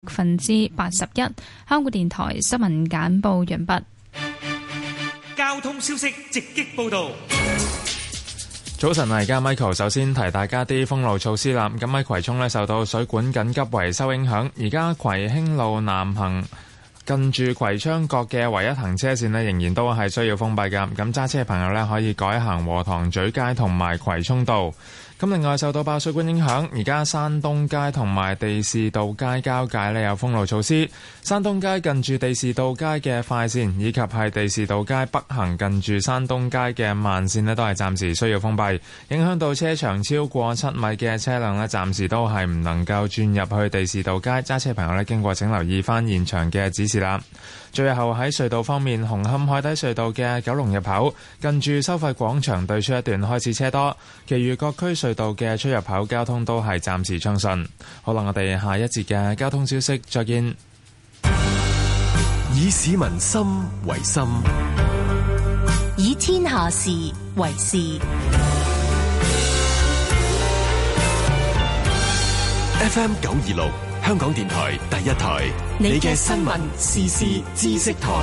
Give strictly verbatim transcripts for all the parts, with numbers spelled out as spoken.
百分之八十一。香港電台新聞簡報完畢。 交通消息直擊報道。 早晨啊，而家 Michael 首先提大家啲封路措施啦。咁喺葵涌呢，受到水管緊急維修影響，而家葵興路南行近住葵昌角嘅唯一行車線呢，仍然都係需要封閉㗎。咁揸車嘅朋友呢，可以改行禾塘咀街同埋葵涌道。咁另外受到爆水管影響，而家山東街同埋地士道街交界呢有封路措施。山東街近住地士道街嘅快線，以及係地士道街北行近住山東街嘅慢線呢，都係暫時需要封閉，影響到車長超過七米嘅車輛呢，暫時都係唔能夠轉入去地士道街。揸車朋友呢，經過請留意翻現場嘅指示啦。最後喺隧道方面，紅磡海底隧道嘅九龍入口近住收費廣場對出一段開始車多，其餘各區隧道嘅出入口交通都係暫時暢順。好啦，我哋下一節嘅交通消息再見。 以市民心為心， 以天下事為事。 F M 九二六香港電台第一台，你嘅新聞時事知識台。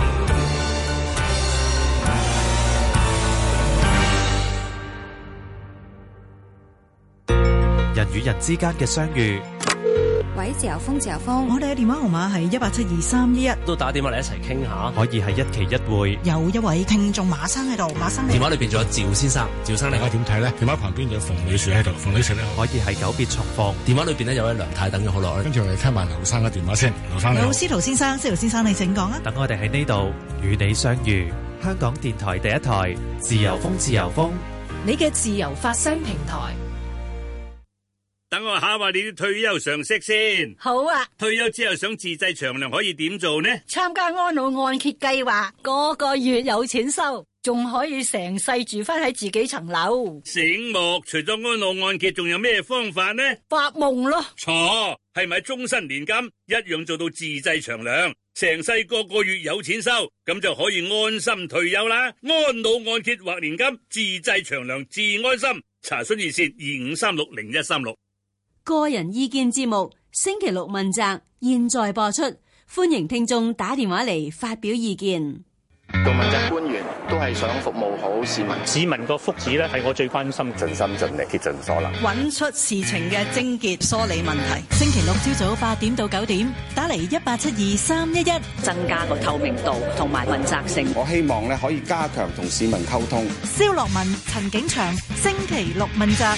人與人之間嘅相遇。 喂，自由風，自由風， 我哋嘅電話號碼係一八七二三一一， 都打電話嚟一齊傾下， 可以係一期一會。 有一位聽眾馬生喺度，馬生電話裏邊仲有趙先生，趙生你大家點睇咧？電話旁邊有馮女士喺度，馮女士咧可以係久別重逢。 電話裏邊咧有位梁太等咗好耐， 跟住我哋聽埋劉生嘅電話先。劉生你好， 有司徒先生，司徒先生你請講啊。 等我哋喺呢度與你相遇，香港電台第一台，自由風，自由風， 你嘅自由發聲平台。 等我考下你啲退休常識先。 好啊。 退休之後想自製長糧可以點做呢？ 參加安老按揭計劃，個個月有錢收，仲可以成世住翻喺自己層樓。 醒目，除咗安老按揭，仲有咩方法呢？ 發夢咯。 錯，係咪終身年金一樣做到自製長糧，成世個個月有錢收，咁就可以安心退休啦。安老按揭或年金，自製長糧，自安心。查詢熱線二五三六零一三六。 個人意見節目星期六問責，現在播出，歡迎聽眾打電話嚟發表意見。 做問責官員都係想服務好市民， 市民個福祉咧係我最關心， 盡心盡力竭盡所能， 揾出事情嘅症結，梳理問題。星期六朝早八點到九點，打嚟一八七二三一一， 增加個透明度同埋問責性。 我希望咧可以加強同市民溝通。 蕭樂文、陳景祥，星期六問責。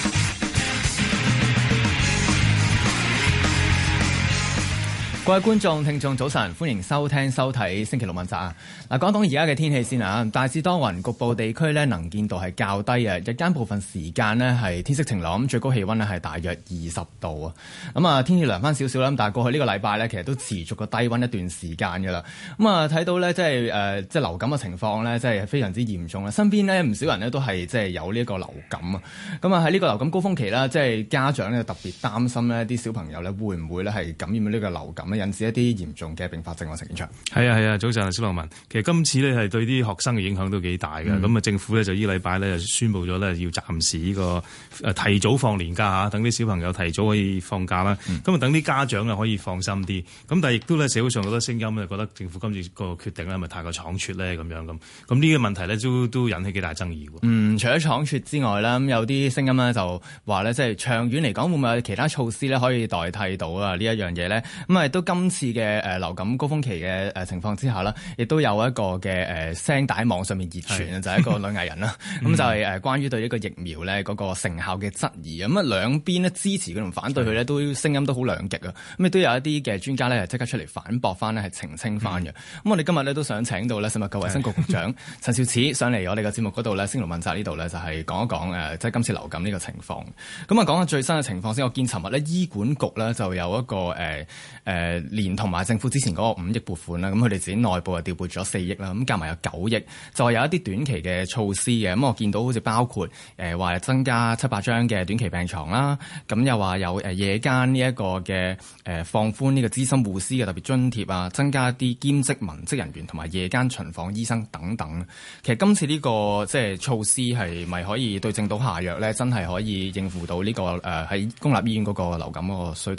各位觀眾、聽眾，早晨，歡迎收聽、收睇星期六問責啊！嗱，講講而家嘅天氣先啊，大致多雲，局部地區咧能見度係較低啊。日間部分時間呢係天色晴朗，咁最高氣溫呢係大約二十度啊。咁啊，天氣涼翻少少啦。但係過去呢個禮拜呢，其實都持續個低溫一段時間㗎啦。咁啊，睇到呢，即係誒，即係流感嘅情況呢，即係非常之嚴重啦。身邊呢，唔少人呢都係即係有呢一個流感啊。咁啊，喺呢個流感高峰期啦，即係家長呢特別擔心呢啲小朋友呢會唔會呢係感染呢個流感，引致一啲嚴重嘅併發症。我陳景祥， 係啊係啊，早晨啊，蕭樂文。其實今次呢係對啲學生嘅影響都幾大嘅。咁啊、嗯，政府呢就呢禮拜呢就宣布咗呢要暫時呢個誒提早放年假嚇，等啲小朋友提早可以放假啦。咁啊、嗯，等啲家長啊可以放心啲。咁但係亦都呢社會上好多聲音呢覺得政府今次個決定呢係咪太過倉促呢？咁樣咁。咁呢個問題呢都都引起幾大爭議喎。 嗯，除咗倉促之外啦，咁有啲聲音呢就話呢，即係長遠嚟講會唔會有其他措施呢可以代替到啊呢一樣嘢呢？咁啊都今次嘅誒流感高峰期嘅誒情況之下啦，亦都有一個嘅誒聲帶網上面熱傳啊，就係一個女藝人啦。咁就係誒關於對呢個疫苗咧嗰個成效嘅質疑。咁啊兩邊咧支持佢同反對佢咧，都聲音都好兩極啊。咁亦都有一啲嘅專家咧，即刻出嚟反駁翻咧，係澄清翻嘅。咁、嗯、我哋今日咧都想請到咧食物及衛生局局長陳肇始上嚟我哋嘅節目嗰度咧，星期六問責呢度咧就係講一講誒，即係今次流感呢個情況。咁啊講下最新嘅情況先。我見尋日咧醫管局咧就有一個誒誒、呃、連同埋政府之前嗰個五億撥款啦，咁佢哋自己內部啊調撥咗四億啦，咁加埋有九億，就係有一啲短期嘅措施嘅。咁我見到好似包括誒話、呃、增加七百張嘅短期病床啦，咁又話有誒夜間呢一個嘅誒、呃、放寬呢個資深護師嘅特別津貼啊，增加一啲兼職文職人員同埋夜間巡訪醫生等等。其實今次呢、這個即係措施係咪可以對症到下藥咧？真係可以應付到呢、這個誒喺、呃、公立醫院嗰個流感嗰個需求咧？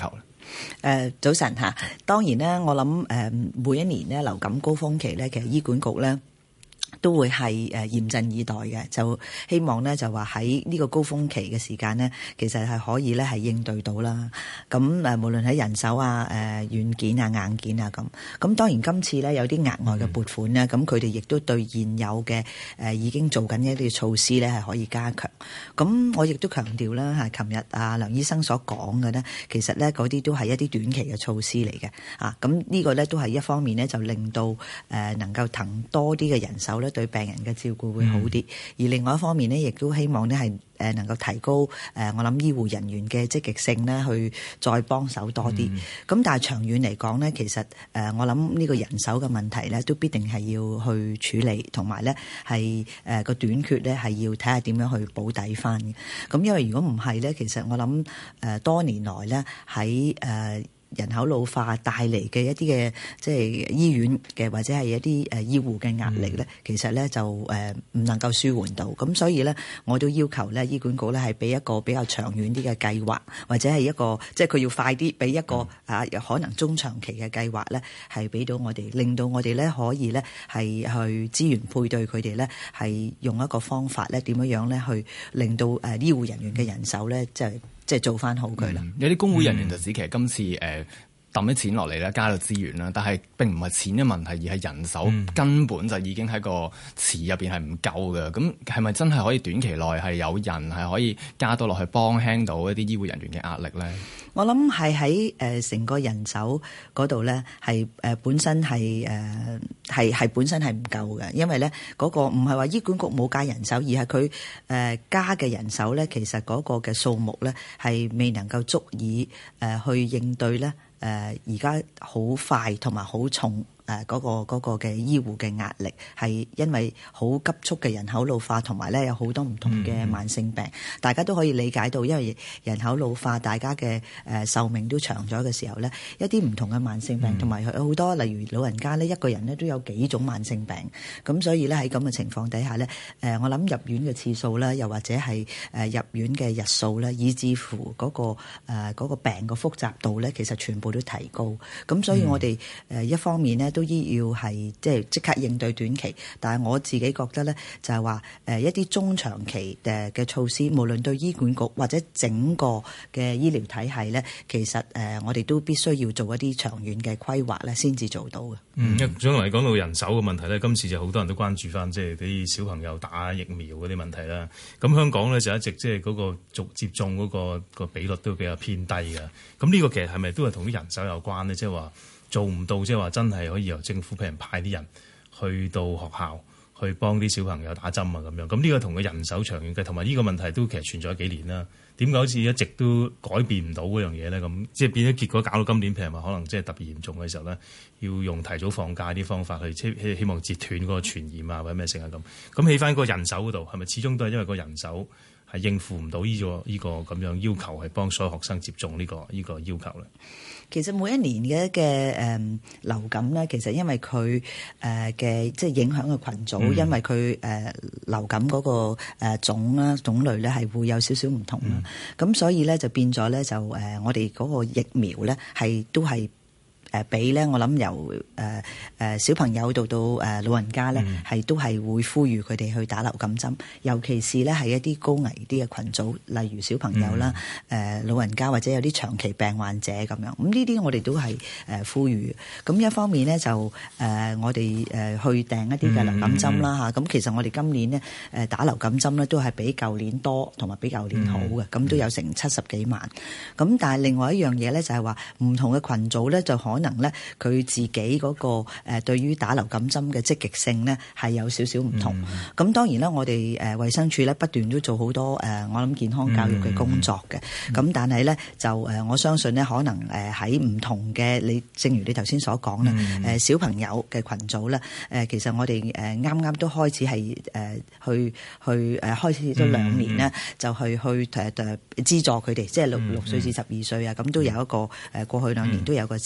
誒早晨嚇，當然咧，我諗誒每一年咧流感高峰期咧，其實醫管局咧都會係誒嚴陣以待嘅，就希望咧就話喺呢個高峰期嘅時間咧，其實係可以咧係應對到啦。咁誒無論喺人手啊、誒軟件啊、硬件啊咁，咁當然今次咧有啲額外嘅撥款咧，咁佢哋亦都對現有嘅誒已經做緊一啲措施咧係可以加強。咁我亦都強調啦嚇，琴日啊梁醫生所講嘅咧，其實咧嗰啲都係一啲短期嘅措施嚟嘅啊。咁呢個咧都係一方面咧就令到誒能夠騰多啲嘅人手咧，對病人嘅照顧會好啲，嗯、而另外一方面呢，亦都希望呢係誒能夠提高誒我諗醫護人員嘅積極性呢，去再幫手多啲。咁、嗯、但係長遠嚟講呢，其實誒我諗呢個人手嘅問題呢，都必定係要去處理，同埋呢係誒個短缺呢，係要睇下點樣去補底翻嘅。咁因為如果唔係呢，其實我諗誒多年來呢喺誒人口老化帶嚟嘅一啲嘅即係醫院嘅或者係一啲誒醫護嘅壓力咧，嗯、其實咧就誒唔能夠舒緩到，咁所以咧我都要求咧醫管局咧係俾一個比較長遠啲嘅計劃，或者係一個即係佢要快啲俾一個、嗯、啊可能中長期嘅計劃咧，係俾到我哋，令到我哋咧可以咧係去資源配對佢哋咧，係用一個方法咧點樣樣咧去令到誒醫護人員嘅人手咧即係。即係做翻好佢啦、嗯。有啲公會人員就指其實今次誒抌啲錢落嚟咧，加到資源啦，但係並唔係錢嘅問題，而係人手、嗯、根本就已經喺個池入邊係唔夠嘅。咁係咪真係可以短期內係有人係可以加多落去幫輕到一啲醫護人員嘅壓力咧？我諗係喺誒成個人手嗰度咧，係誒本身係誒係係本身係唔夠嘅，因為咧嗰個唔係話醫管局冇加人手，而係佢誒加嘅人手咧，其實嗰個嘅數目咧係未能夠足以誒去應對咧誒而家好快同埋好重。誒嗰個嗰個嘅醫護嘅壓力係因為好急速嘅人口老化，同埋咧有好多唔同嘅慢性病，嗯、大家都可以理解到，因為人口老化，大家嘅誒壽命都長咗嘅時候咧，一啲唔同嘅慢性病，同埋有好多例如老人家咧，一個人咧都有幾種慢性病，咁所以咧喺咁嘅情況底下咧，誒我諗入院嘅次數啦，又或者係誒入院嘅日數咧，以至乎嗰個誒嗰個病嘅複雜度咧，其實全部都提高，咁所以我哋誒一方面咧。都要係即係即刻應對短期，但係我自己覺得咧，就係話誒一啲中長期誒嘅措施，無論對醫管局或者整個嘅醫療體系咧，其實誒我哋都必須要做一啲長遠嘅規劃咧，先至做到嘅。 嗯，將來講到人手嘅問題咧，今次就好多人都關注翻，即係啲小朋友打疫苗嗰啲問題啦。咁香港咧就一直即係嗰個續接種嗰個個比率都比較偏低嘅。咁呢個其實係咪都係同啲人手有關咧？即係話。做唔到，即係話真係可以由政府譬如派啲人去到學校去幫啲小朋友打針啊咁樣。咁呢個同個人手長遠嘅，同埋呢個問題都其實存在咗幾年啦。點解好似一直都改變唔到嗰樣嘢咧？咁即係變咗結果搞到今年譬如話可能即係特別嚴重嘅時候咧，要用提早放假啲方法去希希望截斷嗰個傳染啊或者咩成啊咁。咁起翻個人手嗰度係咪始終都係因為個人手係應付唔到呢個呢個咁樣要求，係幫所有學生接種呢個呢個要求咧？ 其實每一年嘅嘅誒流感咧，其實因為佢誒嘅即係影響嘅群組，嗯、因為佢誒、呃、流感嗰個誒種啦種類咧係會有少少唔同啦，咁、嗯、所以咧就變咗咧就誒、呃、我哋嗰個疫苗咧係都係。誒俾咧，我諗由誒誒、呃呃、小朋友到到誒、呃、老人家咧，係、嗯、都係會呼籲佢哋去打流感針，尤其是咧係一啲高危啲嘅群組，例如小朋友啦、誒、嗯呃、老人家或者有啲長期病患者咁樣。咁呢啲我哋都係誒、呃、呼籲。咁一方面咧就誒、呃、我哋誒去訂一啲嘅流感針啦嚇。咁、嗯嗯、其實我哋今年咧誒打流感針咧都係比舊年多，同埋比舊年好嘅。咁、嗯、都有成七十幾萬。咁但係另外一樣嘢咧就係話唔同嘅群組咧就可能。能咧佢自己嗰個誒對於打流感針嘅積極性咧係有少少唔同。咁、嗯、當然啦，我哋誒衛生署咧不斷都做好多誒我諗健康教育嘅工作嘅。咁、嗯、但係咧就誒我相信咧可能誒喺唔同嘅你，正如你頭先所講啦，誒、嗯、小朋友嘅群組咧誒其實我哋誒啱啱都開始係誒去去誒開始咗兩年咧、嗯，就去去誒誒資助佢哋，即係六六歲至十二歲啊，咁都有一個誒過去兩年都有一個資助。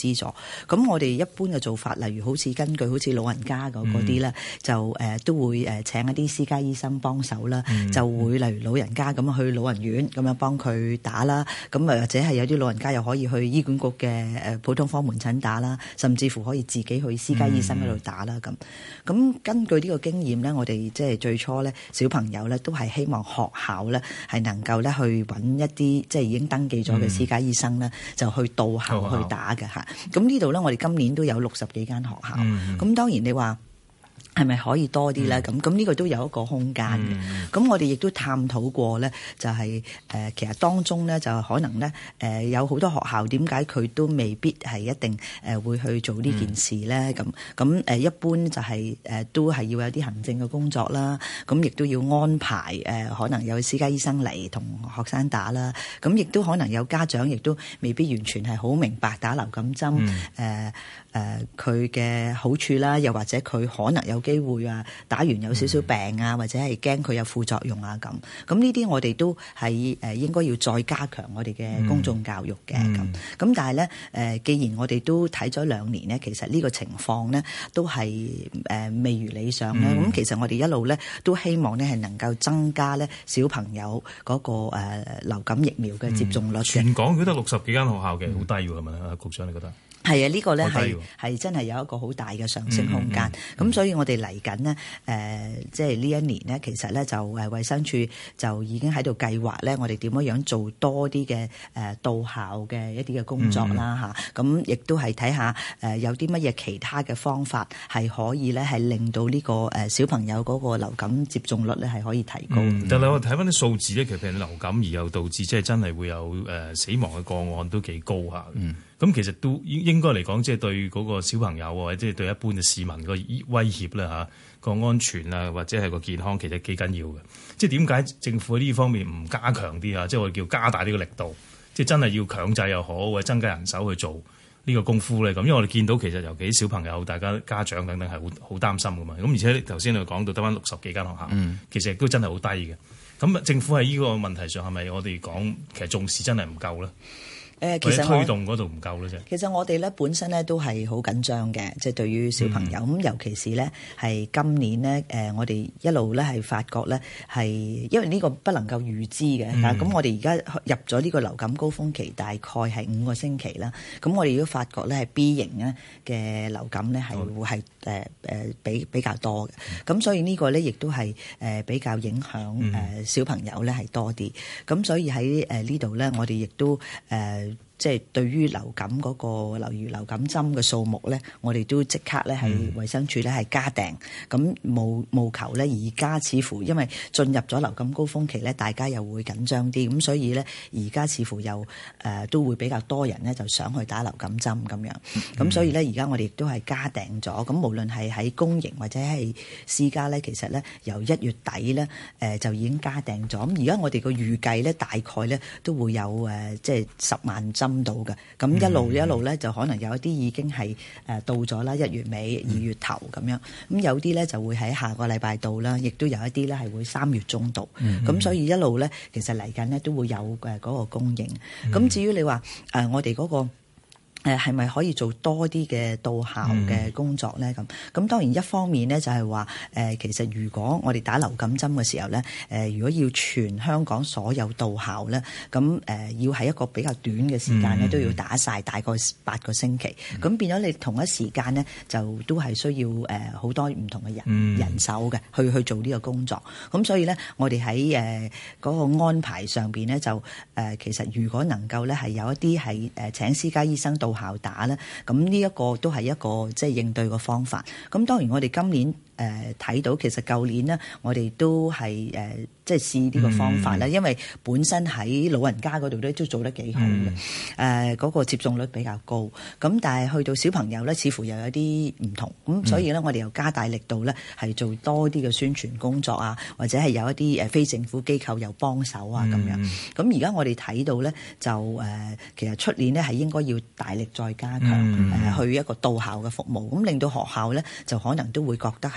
咁我哋一般嘅做法，例如好似根據好似老人家嗰啲咧，就誒、呃、都會誒請一啲私家醫生幫手啦，嗯、就會例如老人家咁去老人院咁樣幫佢打啦，咁啊或者係有啲老人家又可以去醫管局嘅誒普通科門診打啦，甚至乎可以自己去私家醫生嗰度打啦咁。咁、嗯、根據呢個經驗咧，我哋即係最初咧小朋友咧都係希望學校咧係能夠咧去揾一啲即係已經登記咗嘅私家醫生咧，嗯、就去到校去打嘅嚇。咁、嗯、呢度咧，我哋今年都有六十幾間學校。咁、嗯、當然你話係咪可以多啲咧？咁咁呢個都有一個空間嘅。咁、嗯、我哋亦都探討過咧，就係、是、誒、呃、其實當中咧就可能咧誒、呃、有好多學校點解佢都未必係一定誒會去做呢件事咧？咁咁誒一般就係、是、誒、呃、都係要有啲行政嘅工作啦。咁亦都要安排誒、呃、可能有私家醫生嚟同學生打啦。咁亦都可能有家長亦都未必完全係好明白打流感針誒誒佢嘅好處啦，又或者佢可能有機會啊，打完有少少病啊，嗯、或者係驚佢有副作用啊咁。咁呢啲我哋都係誒應該要再加強我哋嘅公眾教育嘅咁。咁、嗯、但係咧誒，既然我哋都睇咗兩年咧，其實呢個情況咧都係誒未如理想咧。咁、嗯、其實我哋一路咧都希望咧係能夠增加咧小朋友嗰個誒流感疫苗嘅接種率嘅、嗯。 全港佢得六十幾間學校嘅，好低喎，係咪啊？局長你覺得？ 係啊，呢、這個咧係係真係有一個好大嘅上升空間。咁、嗯嗯、所以我哋嚟緊呢，誒、呃，即係呢一年呢，其實咧就誒衛生署就已經喺度計劃咧，我哋點樣樣做多啲嘅誒到校嘅一啲嘅工作啦嚇。咁亦都係睇下誒有啲乜嘢其他嘅方法係可以咧係令到呢個誒小朋友嗰個流感接種率咧係可以提高。 嗯、但係我睇翻啲數字咧，其實譬如流感而又導致即係真係會有誒死亡嘅個案都幾高下。嗯咁其實都應應該嚟講，即係對嗰個小朋友或者即係對一般嘅市民個威脅咧嚇，個安全啊或者係個健康其實幾緊要嘅。即係點解政府喺呢方面唔加強啲啊？即係我哋叫加大呢個力度，即係真係要強制又好，或者增加人手去做呢個功夫咧。咁因為我哋見到其實尤其小朋友、大家家長等等係好好擔心噶嘛。咁而且頭先你講到得翻六十幾間學校，嗯、其實亦都真係好低嘅。咁政府喺呢個問題上係咪我哋講其實重視真係唔夠咧？誒，其實推動嗰度唔夠咧啫。其實我哋咧本身咧都係好緊張嘅，即係對於小朋友咁，嗯、尤其是咧係今年咧誒，我哋一路咧係發覺咧係因為呢個不能夠預知嘅，咁、嗯、我哋而家入咗呢個流感高峰期，大概係五個星期啦。咁我哋都發覺咧係 B 型咧嘅流感咧係會係誒誒比比較多嘅。咁、嗯、所以呢個咧亦都係誒比較影響誒小朋友咧係多啲。咁、嗯、所以喺誒呢度咧，我哋亦都誒。呃即係對於流感嗰、那個例如流感針嘅數目咧，我哋都即刻咧係衛生署咧係加訂，咁務務求咧而家似乎因為進入咗流感高峰期咧，大家又會緊張啲，咁所以咧而家似乎又誒、呃、都會比較多人咧就想去打流感針咁樣，咁、嗯、所以咧而家我哋亦都係加訂咗，咁無論係喺公營或者係私家咧，其實咧由一月底咧誒、呃、就已經加訂咗，咁而家我哋個預計咧大概咧都會有誒、呃、即係十萬針。到嘅，咁一路一路咧就可能有一啲已經係誒到咗啦，一月尾二月頭咁樣，咁有啲咧就會喺下個禮拜到啦，亦都有一啲咧係會三月中到，咁、嗯、所以一路咧其實嚟緊咧都會有誒嗰個供應。咁、嗯、至於你話誒、呃、我哋嗰、嗰個誒係咪可以做多啲嘅到校嘅工作咧？咁咁、嗯、當然一方面咧就係話誒，其實如果我哋打流感針嘅時候咧，誒、呃、如果要全香港所有到校咧，咁誒、呃、要喺一個比較短嘅時間咧，嗯、都要打晒大概八個星期。咁、嗯、變咗你同一時間咧，就都係需要誒好、呃、多唔同嘅人、嗯、人手嘅去去做呢個工作。咁所以咧，我哋喺誒嗰個安排上邊咧，就誒、呃、其實如果能夠咧係有一啲係誒請私家醫生到校打咧，咁呢一個都係一個即係應對嘅方法。咁當然我哋今年誒睇、呃、到，其實舊年呢，我哋都係誒、呃、即係試呢個方法啦。嗯、因為本身喺老人家嗰度咧都做得幾好嘅，誒嗰、嗯呃嗰個接種率比較高。咁但係去到小朋友咧，似乎又有啲唔同。咁所以咧，我哋又加大力度咧，係做多啲嘅宣傳工作啊，或者係有一啲誒非政府機構又幫手啊咁樣。咁而家我哋睇到咧，就誒、呃、其實出年呢，係應該要大力再加強誒、嗯呃、去一個到校嘅服務，咁令到學校咧就可能都會覺得係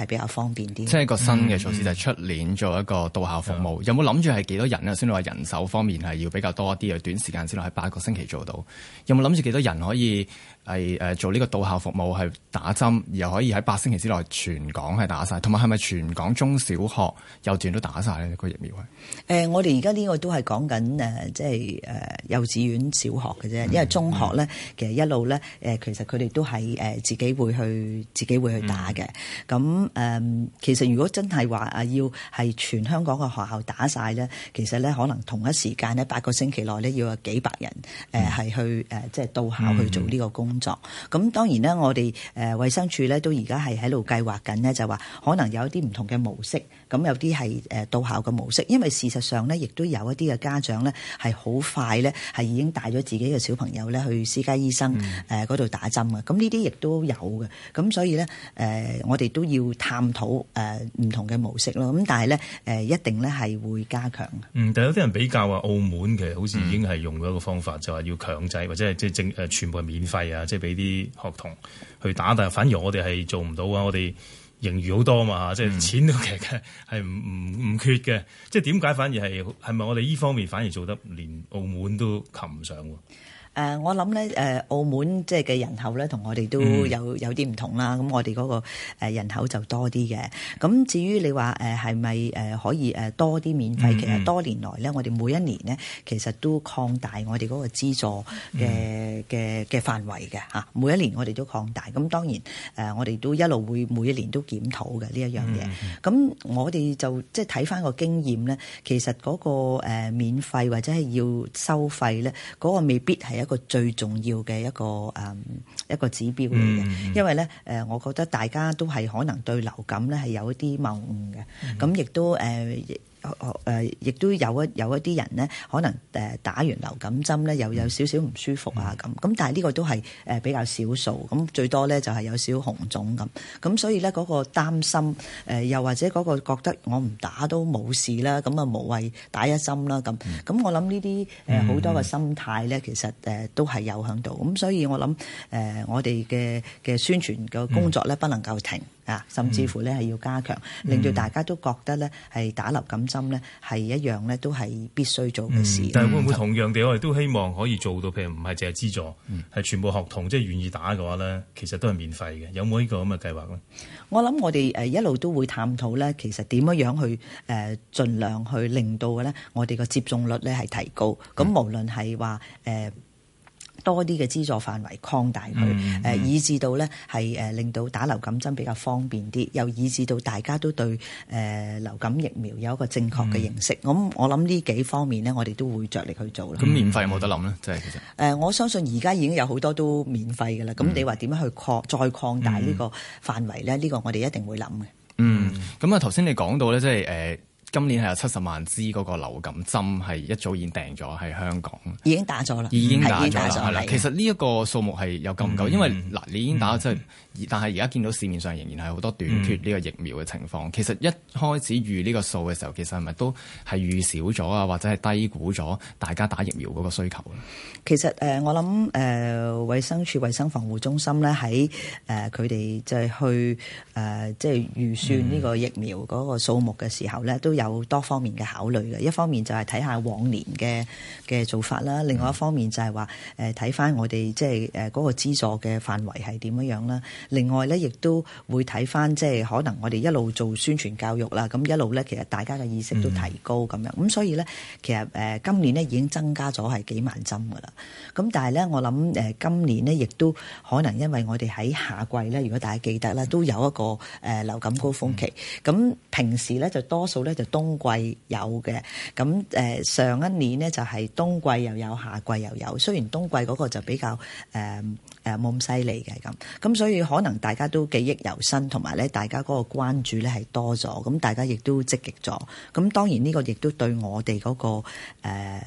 比較方便啲。 即係一個新嘅措施就係出年做一個到校服務，嗯、有冇諗住係幾多人啊？先你話人手方面係要比較多啲，短時間之內喺八個星期做到，有冇諗住幾多人可以係誒做呢個到校服務係打針，又可以喺八星期之內全港係打晒，同埋係咪全港中小學幼稚園都打晒呢個疫苗？誒、 呃，我哋而家呢個都係講緊誒，即係誒幼稚園、小學嘅啫，因為中學咧、嗯、其實一路咧誒，其實佢哋都係誒自己會去自己會去打嘅。咁誒、嗯，其實如果真係話啊，要係全香港嘅學校打晒咧，其實咧可能同一時間咧八個星期內咧要有幾百人誒係、呃、去誒即係到校去做呢個工作。咁、嗯、當然咧，我哋誒衛生署咧都而家係喺度計劃緊咧，就話可能有一啲唔同嘅模式。咁有啲係誒到校嘅模式，因為事實上咧，亦都有一啲嘅家長咧係好快咧係已經帶咗自己嘅小朋友咧去私家醫生誒嗰度打針嘅。咁呢啲亦都有嘅。咁所以咧誒、呃，我哋都要探討誒唔同嘅模式咯。咁但係咧誒，一定咧係會加強。 嗯，但有啲人比較話澳門其實好似已經係用咗一個方法，嗯、就話要強制或者係即係正誒全部係免費啊，即係俾啲學童去打。但係反而我哋係做唔到啊，我哋。盈餘好多嘛，即係錢都其實係唔唔唔缺嘅，即係點解反而係係咪我哋依方面反而做得連澳門都及唔上喎？ 誒、呃，我諗咧，誒，澳門即係嘅人口咧，同我哋都有有啲唔同啦。咁、嗯、我哋嗰個誒人口就多啲嘅。咁至於你話誒係咪誒可以誒多啲免費？嗯、其實多年來咧，我哋每一年咧，其實都擴大我哋嗰個資助嘅嘅嘅範圍嘅嚇。每一年我哋都擴大。咁當然誒、呃，我哋都一路會每一年都檢討嘅呢一樣嘢。咁、嗯、我哋就即係睇翻個經驗咧，其實嗰個誒免費或者係要收費咧，嗰、嗰個未必係一個最重要嘅一個誒、嗯、一個指標嚟嘅，嗯、因為咧誒、呃，我覺得大家都係可能對流感咧係有一啲謬誤嘅，咁亦、嗯、都誒。呃誒，亦、呃、都有一有一啲人呢，可能誒打完流感針呢，又有少少唔舒服啊咁。咁但係呢個都係誒比較少數，咁最多呢，就係有少少紅腫咁。咁所以呢，嗰個擔心誒，又或者嗰個覺得我唔打都冇事啦，咁啊無謂打一針啦咁。咁我諗呢啲誒好多嘅心態呢，其實誒都係有喺度。咁所以我諗誒我哋嘅嘅宣傳嘅工作呢，不能夠停。啊，甚至乎咧係要加強，令到大家都覺得咧係打流感針咧係一樣咧都係必須做嘅事。嗯、但係會唔會同樣地，我哋都希望可以做到，譬如唔係淨係資助，係、嗯、全部學童即係願意打嘅話咧，其實都係免費嘅。有冇呢個咁嘅計劃咧？我諗我哋誒一路都會探討咧，其實點樣樣去誒盡量去令到嘅咧，我哋個接種率咧係提高。咁、嗯、無論係話誒。多啲嘅資助範圍擴大佢，誒、嗯嗯、以至到咧係誒令到打流感針比較方便啲，又以至到大家都對誒、呃、流感疫苗有一個正確嘅認識。咁、嗯、我諗呢幾方面呢，我哋都會着力去做啦。咁、嗯、免費有冇得諗咧？即係其實誒、呃，我相信而家已經有好多都免費嘅啦。咁、嗯、你話點樣去擴再擴大呢個範圍咧？呢、嗯、個我哋一定會諗嘅。嗯，咁啊頭先你講到咧，即係誒。呃今年係有七十萬支嗰個流感針係一早已經訂咗喺香港，已經打咗啦，已經打咗啦，係啦。其實呢一個數目係有夠唔夠？嗯、因為嗱，你已經打咗，即係、嗯，但係而家見到市面上仍然係好多短缺呢個疫苗嘅情況。嗯、其實一開始預呢個數嘅時候，其實係咪都係預少咗啊，或者係低估咗大家打疫苗嗰個需求咧？其實誒、呃，我諗誒，衛、呃、生署衛生防護中心咧喺誒佢哋就係去誒即係預算呢個疫苗嗰個數目嘅時候咧，都有多方面嘅考慮嘅。一方面就係睇下往年嘅嘅做法啦，另外一方面就係話誒睇翻我哋即係誒嗰個資助嘅範圍係點樣樣啦。另外咧，亦都會睇翻即係可能我哋一路做宣傳教育啦，咁一路咧其實大家嘅意識都提高咁樣。咁、嗯、所以咧，其實誒今年咧已經增加咗係幾萬針噶啦。咁但係咧，我諗誒今年咧亦都可能因為我哋喺夏季咧，如果大家記得啦，都有一個誒流感高峰期。咁、嗯、平時咧就多數咧就冬季有嘅。咁誒上一年呢，就係冬季又有，夏季又有。雖然冬季嗰個就比較誒誒冇咁犀利嘅咁。咁所以可能大家都記憶猶新，同埋咧大家嗰個關注咧係多咗。咁大家亦都積極咗。咁當然呢個亦都對我哋嗰個誒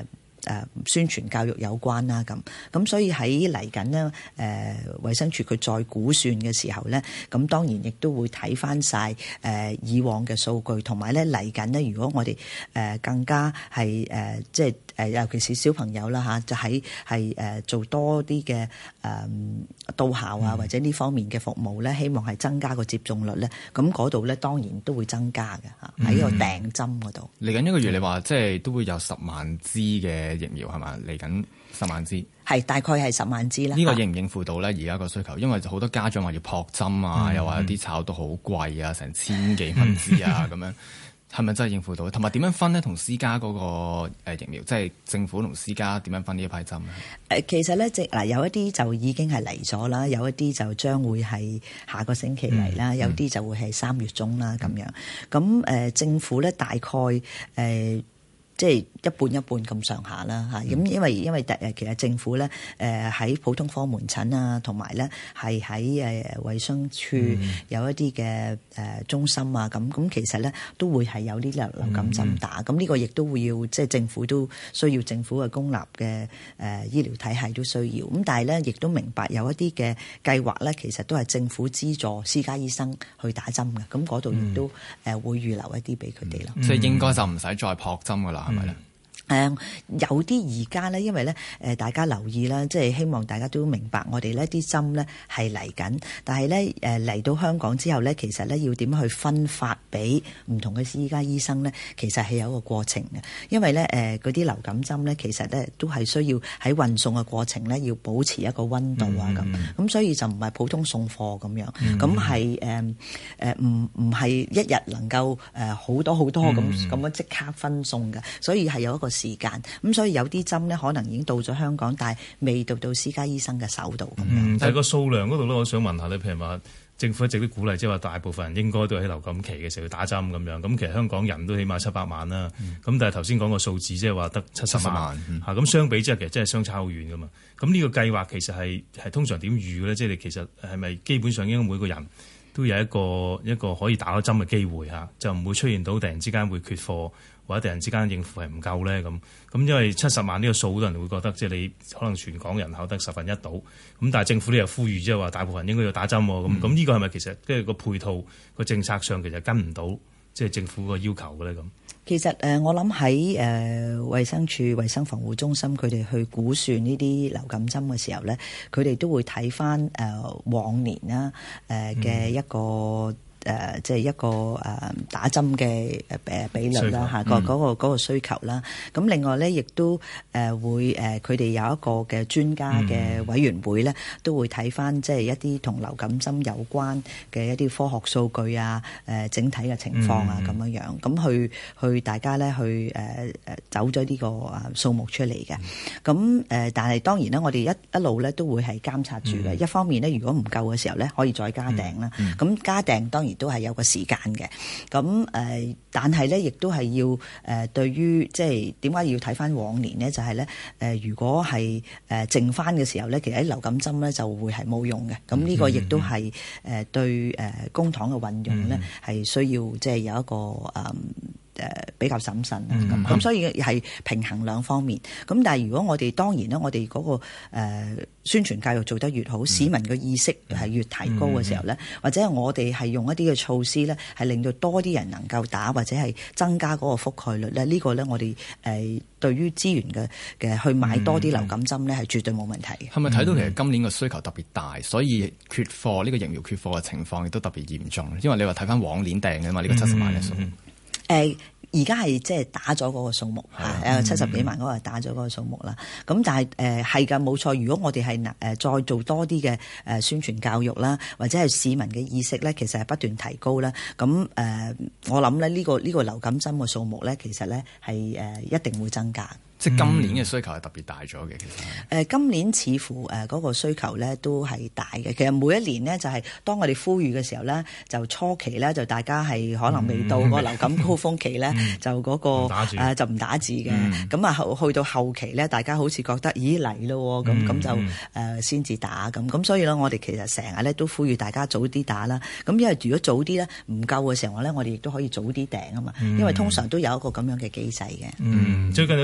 誒宣傳教育有關啦咁。咁所以喺嚟緊呢，誒衛生署佢再估算嘅時候咧，咁當然亦都會睇翻晒誒以往嘅數據，同埋咧嚟緊呢，如果我哋誒更加係誒即係誒尤其是小朋友啦嚇，就喺係誒做多啲嘅誒到校啊或者呢方面嘅服務咧，希望係增加個接種率咧，咁嗰度咧當然都會增加嘅嚇，喺個訂針嗰度。 嚟緊一個月你話即係都會有十萬支嘅疫苗係嘛？嚟緊十萬支。 係大概係十萬支啦。 呢個應唔應付到咧？而家個需求，因為好多家長話要撲針啊，嗯、又話有啲炒到好貴啊，成千幾蚊支啊咁樣，係咪真係應付到？同埋點樣分呢？同私家嗰個疫苗，即係政府同私家點樣分呢一批針咧？ 誒，其實咧，即嗱有一啲就已經係嚟咗啦，有一啲就將會係下個星期嚟啦，嗯、有啲就會係三月中啦咁樣。咁誒、呃，政府咧大概誒。呃即係一半一半咁上下啦嚇，咁因為因為誒其實政府咧誒喺普通科門診啊，同埋咧係喺誒衛生署有一啲嘅誒中心啊，咁咁其實咧都會係有啲流流感針打，咁呢個亦都會要即係政府都需要政府嘅公立嘅誒醫療體系都需要，咁但係咧亦都明白有一啲嘅計劃咧，其實都係政府資助私家醫生去打針嘅，咁嗰度亦都誒會預留一啲俾佢哋咯。 即係應該就唔使再撲針噶啦。係咪咧？ 誒有啲而家咧，因為咧誒大家留意啦，即係希望大家都明白，我哋呢啲針咧係嚟緊，但係咧誒嚟到香港之後咧，其實咧要點樣去分發俾唔同嘅私家醫生咧，其實係有一個過程嘅，因為咧誒嗰啲流感針咧，其實咧都係需要喺運送嘅過程咧，要保持一個溫度啊咁，咁、嗯、所以就唔係普通送貨咁樣，咁係誒誒唔唔係一日能夠誒好多好多咁咁樣即刻分送嘅，所以係有一個時間，咁所以有啲針咧可能已經到咗香港，但係未到到私家醫生嘅手度咁樣。 嗯，但係個數量嗰度咧，我想問下你，譬如話政府一直都鼓勵，即係話大部分人應該都喺流感期嘅時候要打針咁樣。咁其實香港人都起碼七百萬啦。咁、嗯、但係頭先講個數字即係話得七十萬嚇，咁、嗯、相比之下其實真係相差好遠噶嘛。咁呢個計劃其實係係通常點預嘅咧？即係你其實係咪基本上應該每個人都有一個一個可以打到針嘅機會嚇，就唔會出現到突然之間會缺貨，或者突然之間應付係唔夠咧咁。咁因為七十萬呢個數，好多人會覺得即係你可能全港人口得十分一到。咁但係政府呢又呼籲即係話大部分人應該要打針喎。咁咁呢個係咪其實即係個配套個政策上其實跟唔到即係政府個要求嘅咧咁？ 其實誒，我諗喺誒衛生署衛生防護中心佢哋去估算呢啲流感針嘅時候咧，佢哋都會睇翻誒往年啦誒嘅一個。嗯誒、呃，即係一個誒、呃、打針嘅誒比率啦嚇，個嗰個嗰個需求啦。咁另外咧，亦都誒會誒佢哋有一個嘅專家嘅委員會咧，嗯、都會睇翻即係一啲同流感針有關嘅一啲科學數據啊，誒、呃、整體嘅情況啊咁樣樣，咁去去大家咧去誒誒走咗呢個啊數目出嚟嘅。咁誒、呃，但係當然咧，我哋一一路咧都會係監察住嘅。嗯、一方面咧，如果唔夠嘅時候咧，可以再加訂啦。咁、嗯、加訂當然都係有個時間嘅，咁誒，但係咧，亦都係要誒，對於即係點解要睇翻往年呢？就係咧誒，如果係誒剩翻嘅時候咧，其實啲流感針咧就會係冇用嘅。咁呢個亦都係誒對誒公帑嘅運用咧係需要即係有一個誒。誒比較審慎啦，咁咁、嗯、所以係平衡兩方面。咁但係如果我哋當然咧，我哋嗰、那個誒、呃、宣傳教育做得越好，嗯、市民嘅意識係越提高嘅時候咧，嗯、或者係我哋係用一啲嘅措施咧，係令到多啲人能夠打，或者係增加嗰個覆蓋率咧，呢、這個咧我哋誒、呃、對於資源嘅嘅去買多啲流感針咧係絕對冇問題嘅。係咪睇到其實今年嘅需求特別大，所以缺貨呢、這個疫苗缺貨嘅情況亦都特別嚴重？因為你話睇翻往年訂嘅嘛，呢、這個七十萬嘅數。嗯嗯誒而家係即係打咗嗰個數目嚇，誒七十幾萬嗰個打咗嗰個數目啦。咁、嗯、但係誒係㗎冇錯。如果我哋係誒再做多啲嘅誒宣傳教育啦，或者係市民嘅意識咧，其實係不斷提高啦。咁誒、呃、我諗咧呢個呢、呢個流感針嘅數目咧，其實咧係誒一定會增加。 即係今年嘅需求係特別大咗嘅，其實。誒、 呃、今年似乎誒嗰個需求咧都係大嘅。其實每一年呢，就係當我哋呼籲嘅時候咧，就初期咧就大家係可能未到個流感高峰期咧，嗯、就嗰、嗰個誒、呃、就唔打字嘅。咁啊、嗯、去到後期咧，大家好似覺得咦嚟咯，咁咁、嗯、就誒先至打咁。咁所以咧，我哋其實成日咧都呼籲大家早啲打啦。咁因為如果早啲咧唔夠嘅時候咧，我哋亦都可以早啲訂啊嘛。因為通常都有一個咁樣嘅機制嘅。 嗯，最近有啲藝人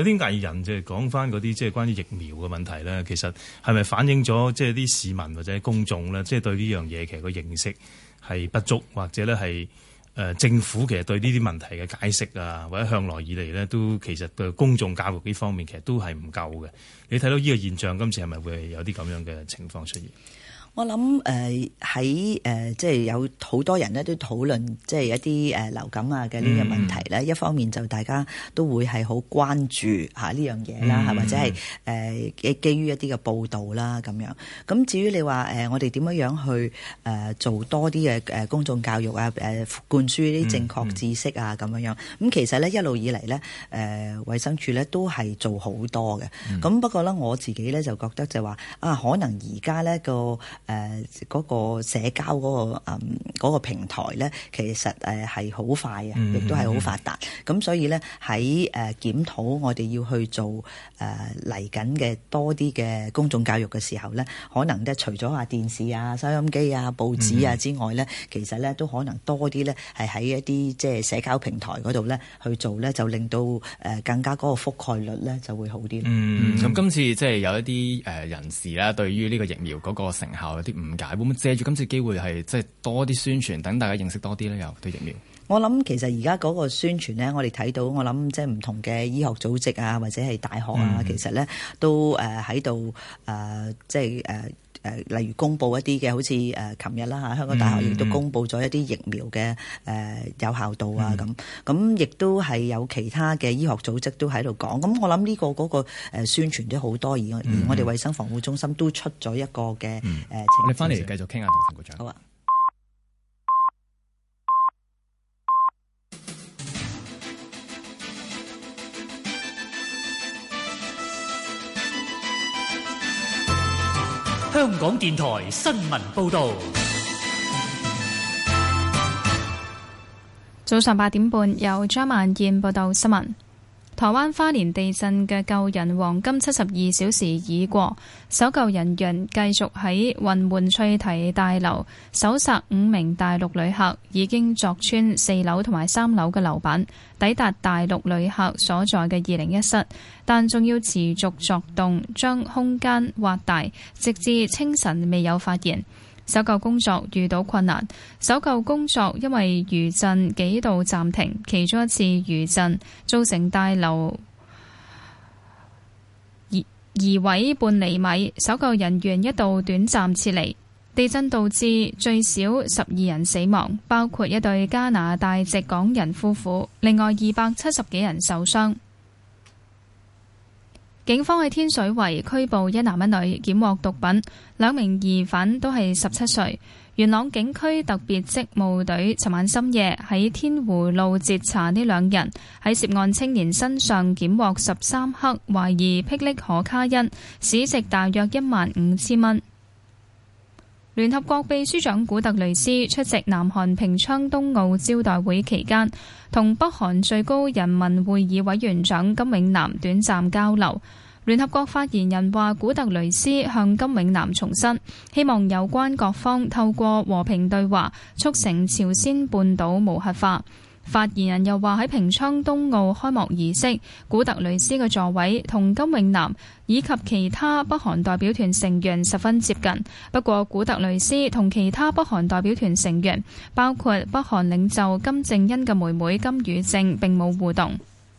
人即係講翻嗰啲即係關於疫苗嘅問題咧，其實係咪反映咗即係啲市民或者公眾咧，即係對呢樣嘢其實個認識係不足，或者咧係誒政府其實對呢啲問題嘅解釋啊，或者向來以嚟咧都其實對公眾教育呢方面其實都係唔夠嘅。你睇到呢個現象，今次係咪會有啲咁樣嘅情況出現？ 我諗誒喺誒即係有好多人咧都討論即係一啲誒流感啊嘅呢個問題咧、嗯。一方面就大家都會係好關注嚇呢樣嘢啦，係、嗯、或者係誒基基於一啲嘅報導啦咁樣。咁至於你話誒我哋點樣樣去誒做多啲嘅誒公眾教育啊，誒灌輸啲正確知識啊咁樣樣。咁其實咧一路以嚟咧誒衛生署咧都係做好多嘅。咁、嗯、不過咧我自己咧就覺得就話啊，可能而家咧個誒嗰、呃那個社交嗰、那個誒嗰、嗯那個平台咧，其實誒係好快啊，亦都係好發達。咁、嗯、所以咧喺誒檢討我哋要去做誒嚟緊嘅多啲嘅公眾教育嘅時候咧，可能咧除咗話電視啊、收音機啊、報紙啊之外咧、嗯，其實咧都可能多啲咧係喺一啲即係社交平台嗰度咧去做咧，就令到誒更加嗰個覆蓋率咧就會好啲。 嗯，咁、嗯、今次即係有一啲誒人士啦，對於呢個疫苗嗰個成效有啲誤解，會唔會借住今次機會係即係多啲宣傳，等大家認識多啲咧？又對疫苗， 我諗其實而家嗰個宣傳咧，我哋睇到，我諗即係唔同嘅醫學組織啊，或者係大學啊，嗯、其實咧都誒喺度誒，即係誒誒，例如公布一啲嘅，好似誒琴日啦嚇，香港大學亦都公布咗一啲疫苗嘅誒、呃、有效度啊咁，咁亦都係有其他嘅醫學組織都喺度講。咁我諗呢個嗰個誒宣傳都好多，而我、嗯、而我哋衛生防護中心都出咗一個嘅誒、嗯呃、情況。 我哋翻嚟繼續傾下同陳局長。 好啊。 香港電台新聞報道。 早上八點半，由張萬燕報道新聞。台灣花蓮地震嘅救人黃金七十二小時已過，搜救人員繼續喺雲門翠堤大樓搜索五名大陸旅客，已經鑿穿四樓同埋三樓嘅樓板，抵達大陸旅客所在嘅二零一室，但仲要持續作動，將空間挖大，直至清晨未有發現。搜救工作遇到困難，搜救工作因為餘震幾度暫停，其中一次餘震造成大樓移移位半厘米，搜救人員一度短暫撤離。地震導致最少十二人死亡，包括一對加拿大籍港人夫婦，另外二百七十幾人受傷。警方喺天水圍拘捕一男一女，檢獲毒品，兩名疑犯都係十七歲。元朗警區特別職務隊尋晚深夜喺天湖路截查呢兩人，喺涉案青年身上檢獲十三克懷疑霹靂可卡因，市值大約一萬五千蚊。聯合國秘書長古特雷斯出席南韓平昌冬奧招待會期間，同北韓最高人民會議委員長金永南短暫交流。聯合國發言人話，古特雷斯向金永南重申，希望有關各方透過和平對話，促成朝鮮半島無核化。發言人又話，喺平昌冬奧開幕儀式，古特雷斯嘅座位同金永南以及其他北韓代表團成員十分接近。不過，古特雷斯同其他北韓代表團成員，包括北韓領袖金正恩嘅妹妹金與正，並冇互動。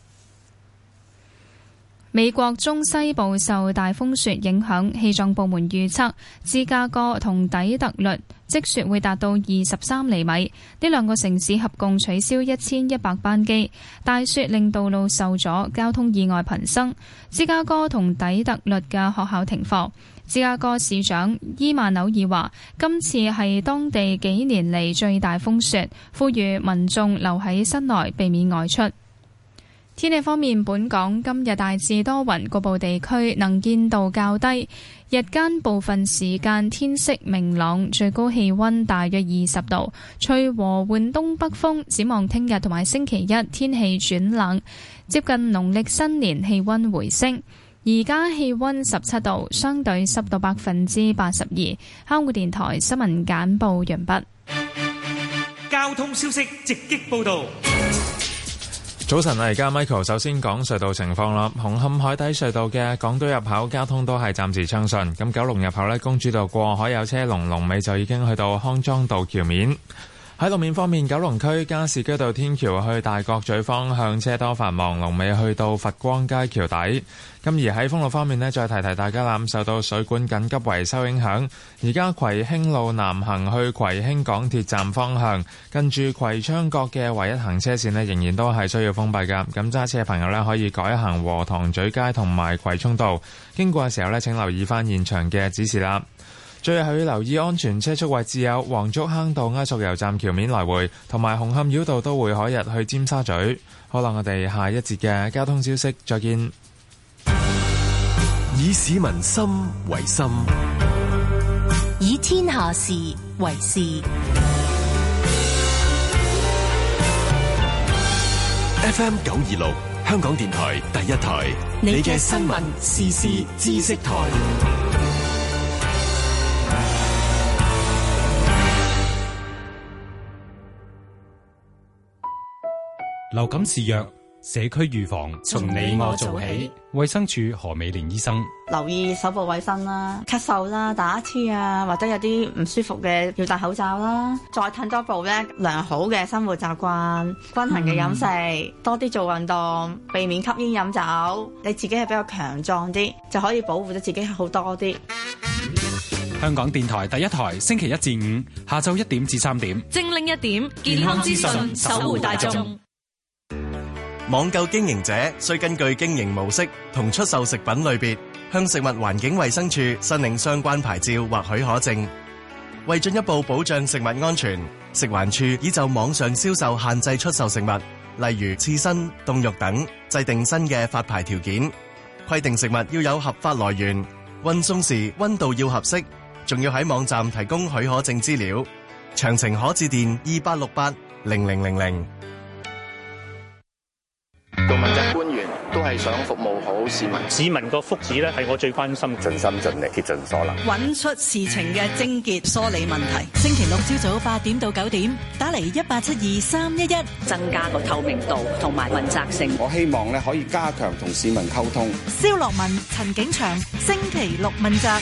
美國中西部受大風雪影響，氣象部門預測芝加哥同底特律積雪會達到二十三厘米，呢兩個城市合共取消一千一百班機。大雪令道路受阻，交通意外頻生。芝加哥同底特律嘅學校停課。芝加哥市長伊曼紐爾話，今次係當地幾年嚟最大風雪，呼籲民眾留喺室內，避免外出。天氣方面，本港今日大致多雲，局部地區能見度較低，日間部分時間天色明朗，最高氣溫大約二十度，吹和緩東北風。展望聽日同埋星期一天氣轉冷，接近農曆新年氣溫回升。而家氣溫十七度，相對濕度百分之八十二。香港電台新聞簡報完畢。 交通消息直擊報道。 早晨啊，而家 Michael 首先講隧道情況啦。紅磡海底隧道嘅港島入口交通都係暫時暢順。咁九龍入口呢，公主道過海有車龍，龍尾就已經去到康莊道橋面。喺路面方面，九龍區加士居道天橋去大角咀方向車多繁忙，龍尾去到佛光街橋底。咁而喺封路方面呢，再提提大家啦，受到水管緊急維修影響，而家葵興路南行去葵興港鐵站方向，近住葵昌角嘅唯一行車線呢，仍然都係需要封閉㗎。咁揸車嘅朋友呢，可以改行禾塘咀街同埋葵涌道，經過嘅時候呢，請留意翻現場嘅指示啦。最後要留意安全車速位置有黃竹坑道埃索油站橋面來回，同埋紅磡繞道都會可日去尖沙咀。好啦，我哋下一節嘅交通消息再見。 以市民心為心， 以天下事為事。 F M 九二六香港電台第一台，你嘅新聞時事知識台。 流感肆虐，社區預防從你我做起。衛生署何美蓮醫生： 留意手部衛生啦，咳嗽啦，打乞嗤啊，或者有啲唔舒服嘅要戴口罩啦。再褪多步咧，良好嘅生活習慣，均衡嘅飲食，嗯、多啲做運動，避免吸煙飲酒。你自己係比較強壯啲，就可以保護到自己好多啲。 香港電台第一台，星期一至五下晝一點至三點， 精靈一點，健康資訊，守護大眾。 網購經營者需根據經營模式同出售食品類別，向食物環境衛生署申領相關牌照或許可證。為進一步保障食物安全，食環署已就網上銷售限制出售食物，例如刺身、凍肉等，制定新嘅發牌條件，規定食物要有合法來源，運送時溫度要合適，仲要喺網站提供許可證資料。詳情可致電二八六八零零零零。 做問責官員都係想服務好市民， 市民個福祉咧係我最關心， 盡心盡力竭盡所能， 揾出事情嘅症結，梳理問題。星期六朝早八點到九點，打嚟一八七二三一一， 增加個透明度同埋問責性。 我希望咧可以加強同市民溝通。 蕭樂文、陳景祥，星期六問責。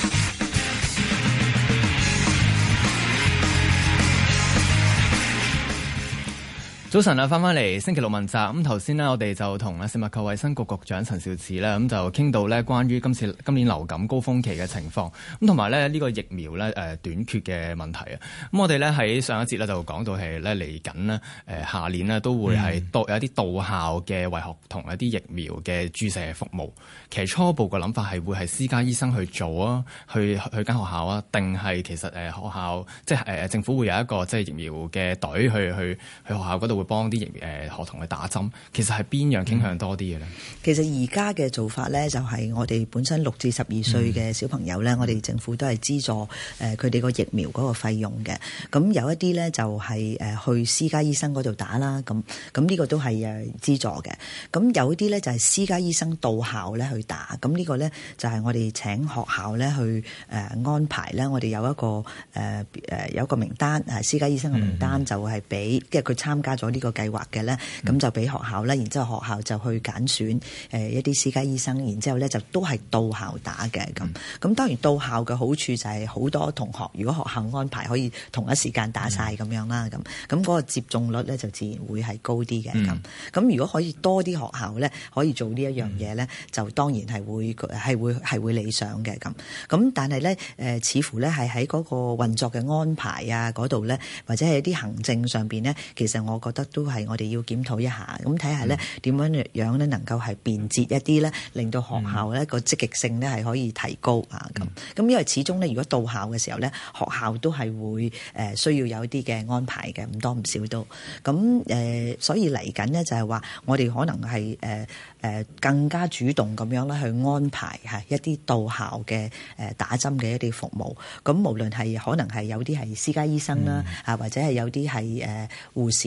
早晨啊，翻返嚟星期六問責。咁頭先呢，我哋就同食物及衛生局局長陳肇始咧，咁就傾到咧關於今次今年流感高峰期嘅情況，咁同埋咧呢個疫苗咧誒短缺嘅問題啊。咁我哋咧喺上一節咧就講到係咧嚟緊呢誒下年呢都會係多有一啲到校嘅為學童一啲疫苗嘅注射服務。其實初步嘅諗法係會係私家醫生去做啊，去去間學校啊，定係其實誒學校即係誒政府會有一個即係疫苗嘅隊去去去學校嗰度會幫啲疫誒學童去打針。其實係邊樣傾向多啲嘅咧？ 其實而家嘅做法咧，就係我哋本身六至十二歲嘅小朋友咧，嗯、我哋政府都係資助誒佢哋個疫苗嗰個費用嘅。咁有一啲咧就係誒去私家醫生嗰度打啦。咁咁呢個都係誒資助嘅。咁有啲咧就係私家醫生到校咧去打。咁呢個咧就係我哋請學校咧去誒安排咧。我哋有一個誒誒有一個名單誒私家醫生嘅名單，就係俾即係佢參加咗呢個計劃嘅咧，咁就俾學校咧，然之後學校就去揀選誒一啲私家醫生，然之後咧就都係到校打嘅咁。咁當然到校嘅好處就係好多同學，如果學校安排可以同一時間打晒咁樣啦，咁咁嗰個接種率咧就自然會係高啲嘅咁。咁、嗯、如果可以多啲學校咧可以做呢一樣嘢咧，就當然係會係會係會理想嘅咁。咁但係咧誒，似乎咧係喺嗰個運作嘅安排啊嗰度咧，或者係一啲行政上邊咧，其實我覺得都係我哋要檢討一下，咁睇下咧點樣樣咧能夠係便捷一啲咧，令到學校咧個積極性咧係可以提高啊咁。咁因為始終咧，如果到校嘅時候咧，學校都係會誒需要有一啲嘅安排嘅，唔多唔少都。咁誒，所以嚟緊咧就係話，我哋可能係誒誒更加主動咁樣咧去安排嚇一啲到校嘅誒打針嘅一啲服務。咁無論係可能係有啲係私家醫生啦，啊或者係有啲係誒護士啦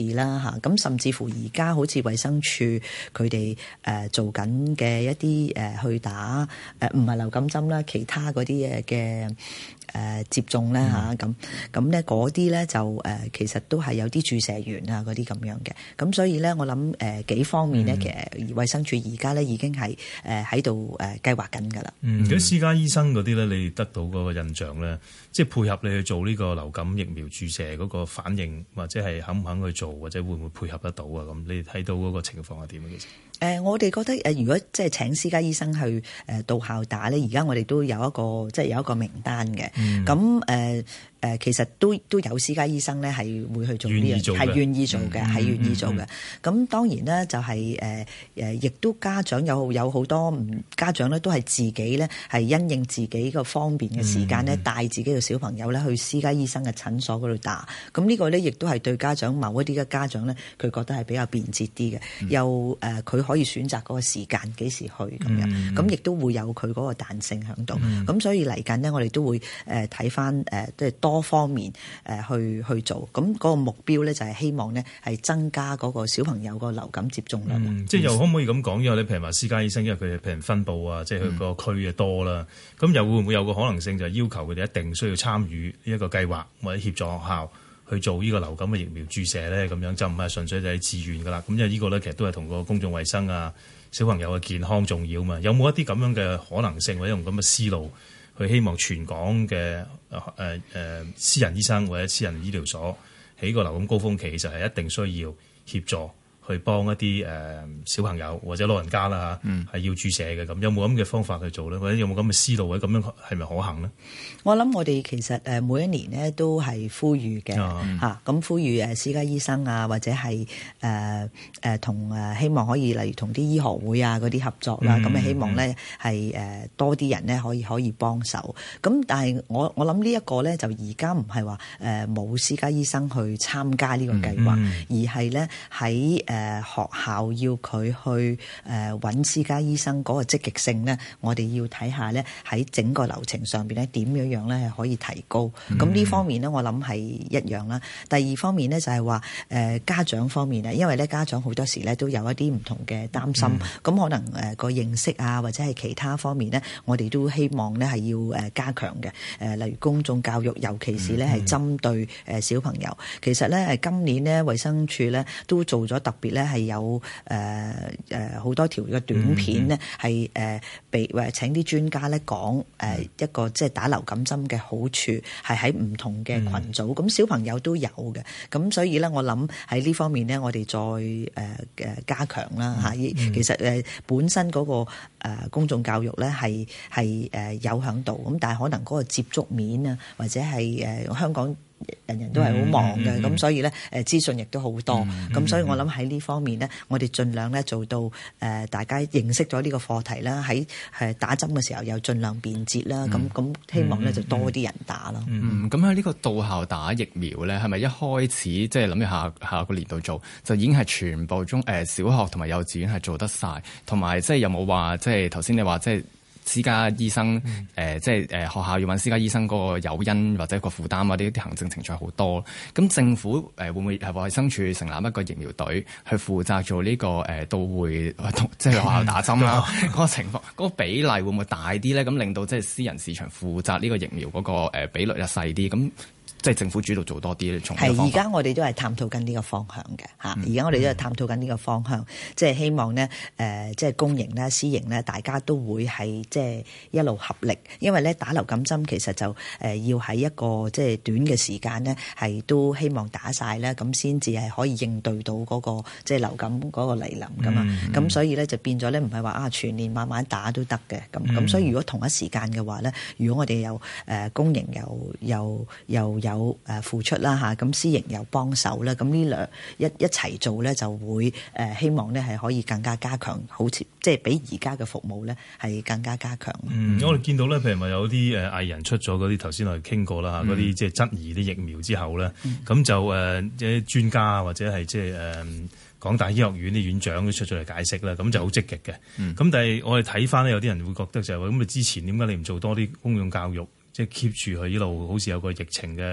嚇。咁甚至乎而家好似衛生署佢哋誒做緊嘅一啲誒去打誒唔係流感針啦，其他嗰啲嘅嘅誒接種咧嚇，咁咁咧嗰啲咧就誒其實都係有啲注射員啊嗰啲咁樣嘅。咁所以咧我諗誒幾方面咧，其實衛生署而家咧已經係誒喺度誒計劃緊㗎啦。 嗯，咁私家醫生嗰啲咧，你得到嗰個印象咧，即係配合你去做呢個流感疫苗注射嗰個反應，或者係肯唔肯去做，或者會唔會配合得到啊？咁你睇到嗰個情況係點啊？其實誒，我哋覺得誒，如果即係請私家醫生去誒到校打咧，而家我哋都有一個即係有一個名單嘅。咁誒誒，其實都都有私家醫生咧係會去做呢樣，係願意做嘅，係願意做嘅。咁當然咧就係誒誒，亦都家長有有好多唔家長咧都係自己咧係因應自己個方便嘅時間咧，帶自己嘅小朋友咧去私家醫生嘅診所嗰度打。咁呢個咧亦都係對家長某一啲嘅家長咧，佢覺得係比較便捷啲嘅，又誒佢可以選擇嗰個時間幾時去咁樣，咁亦都會有佢嗰個彈性喺度。咁所以嚟緊呢，我哋都會誒睇翻誒即係多方面誒去去做。咁嗰個目標咧就係希望呢係增加嗰個小朋友個流感接種率。 嗯、即係又可唔可以咁講？因為你譬如話私家醫生，因為佢譬如分佈啊，即係佢個區嘅多啦，咁、嗯、又會唔會有個可能性就係要求佢哋一定需要參與呢一個計劃，或者協助學校去做呢個流感嘅疫苗注射咧？咁樣就唔係純粹就係自願噶啦。咁因為呢個咧其實都係同個公眾衛生啊、小朋友嘅健康重要嘛。有冇一啲咁樣嘅可能性，或者用咁嘅思路去希望全港嘅誒誒誒私人醫生或者私人醫療所喺個流感高峰期，其實係一定需要協助去幫一啲誒、呃、小朋友或者老人家啦嚇，係、嗯、要注射嘅。咁有冇咁嘅方法去做咧？或者有冇咁嘅思路，或者咁樣係咪可行咧？ 我諗我哋其實誒每一年咧都係呼籲嘅嚇，咁、嗯啊、呼籲誒私家醫生啊，或者係誒誒同誒希望可以例如同啲醫學會啊嗰啲合作啦，咁、嗯、啊希望咧係誒多啲人咧可以可以幫手。咁但係我我諗呢一個咧就而家唔係話誒冇私家醫生去參加呢個計劃，嗯、而係咧喺誒學校要佢去誒揾私家醫生嗰個積極性咧，我哋要睇下咧喺整個流程上邊咧點樣樣咧係可以提高。咁呢、嗯、方面咧，我諗係一樣啦。第二方面咧就係話誒家長方面咧，因為咧家長好多時咧都有一啲唔同嘅擔心，咁、嗯、可能誒個認識啊或者係其他方面咧，我哋都希望咧係要誒加強嘅。誒例如公眾教育，尤其是咧係針對誒小朋友。其實咧誒今年咧衛生署咧都做咗特別咧係有誒誒好多條嘅短片咧係誒被誒請啲專家咧講誒一個即係打流感針嘅好處，係喺唔同嘅群組，咁、嗯、小朋友都有嘅，咁所以咧我諗喺呢方面咧我哋再誒誒加強啦嚇。其實誒本身嗰個誒公眾教育咧係係誒有響度，咁但係可能嗰個接觸面啊或者係誒香港人人都係好忙嘅，咁、嗯嗯、所以咧誒資訊亦都好多，咁、嗯、所以我諗喺呢方面咧，我哋盡量咧做到誒、呃、大家認識咗呢個課題啦，喺誒打針嘅時候又盡量便捷啦，咁咁、嗯、希望咧就多啲人打咯。 嗯，咁喺呢個到校打疫苗咧，係咪一開始即係諗住下下個年度做，就已經係全部中誒、呃、小學同埋幼稚園係做得晒，同埋即係有冇話即係頭先你話即係。私家醫生誒、嗯呃，即係誒、呃、學校要揾私家醫生嗰個誘因或者個負擔啊，啲啲行政程序好多。咁政府誒、呃、會唔會係衛生署成立一個疫苗隊去負責做呢、這個誒、呃、到會即係學校打針啦？嗰、嗯、個情況嗰、那個比例會唔會大啲咧？咁令到即係私人市場負責呢個疫苗嗰、那個、呃、比率又細啲咁。即係政府主導做多啲，從係而家我哋都係探討緊呢個方向嘅嚇。而家、嗯、我哋都係探討緊呢個方向，即、就、係、是、希望咧誒，即、呃、係、就是、公營咧、私營咧，大家都會係即係一路合力。因為咧打流感針其實就誒、呃、要喺一個即係、就是、短嘅時間咧，係都希望打晒咧，咁先至係可以應對到嗰、那個即係、就是、流感嗰個嚟臨噶嘛。咁、嗯、所以咧就變咗咧，唔係話啊全年慢慢打都得嘅。咁咁、嗯、所以如果同一時間嘅話咧，如果我哋有誒、呃、公營又又又有有誒付出啦嚇，咁私營又幫手啦，咁呢兩一一齊做咧，就會誒希望咧係可以更加加強，好似即係比而家嘅服務咧係更加加強。 嗯，我哋見到咧，譬如話有啲誒藝人出咗嗰啲頭先我哋傾過啦嚇，嗰啲即係質疑啲疫苗之後咧，咁、嗯、就誒即係專家或者係即係誒港大醫學院啲院長都出咗嚟解釋啦，咁就好積極嘅。咁、嗯、但係我哋睇翻咧，有啲人會覺得就係話咁，你之前點解你唔做多啲公眾教育？即係 keep 住佢一路好似有個疫情嘅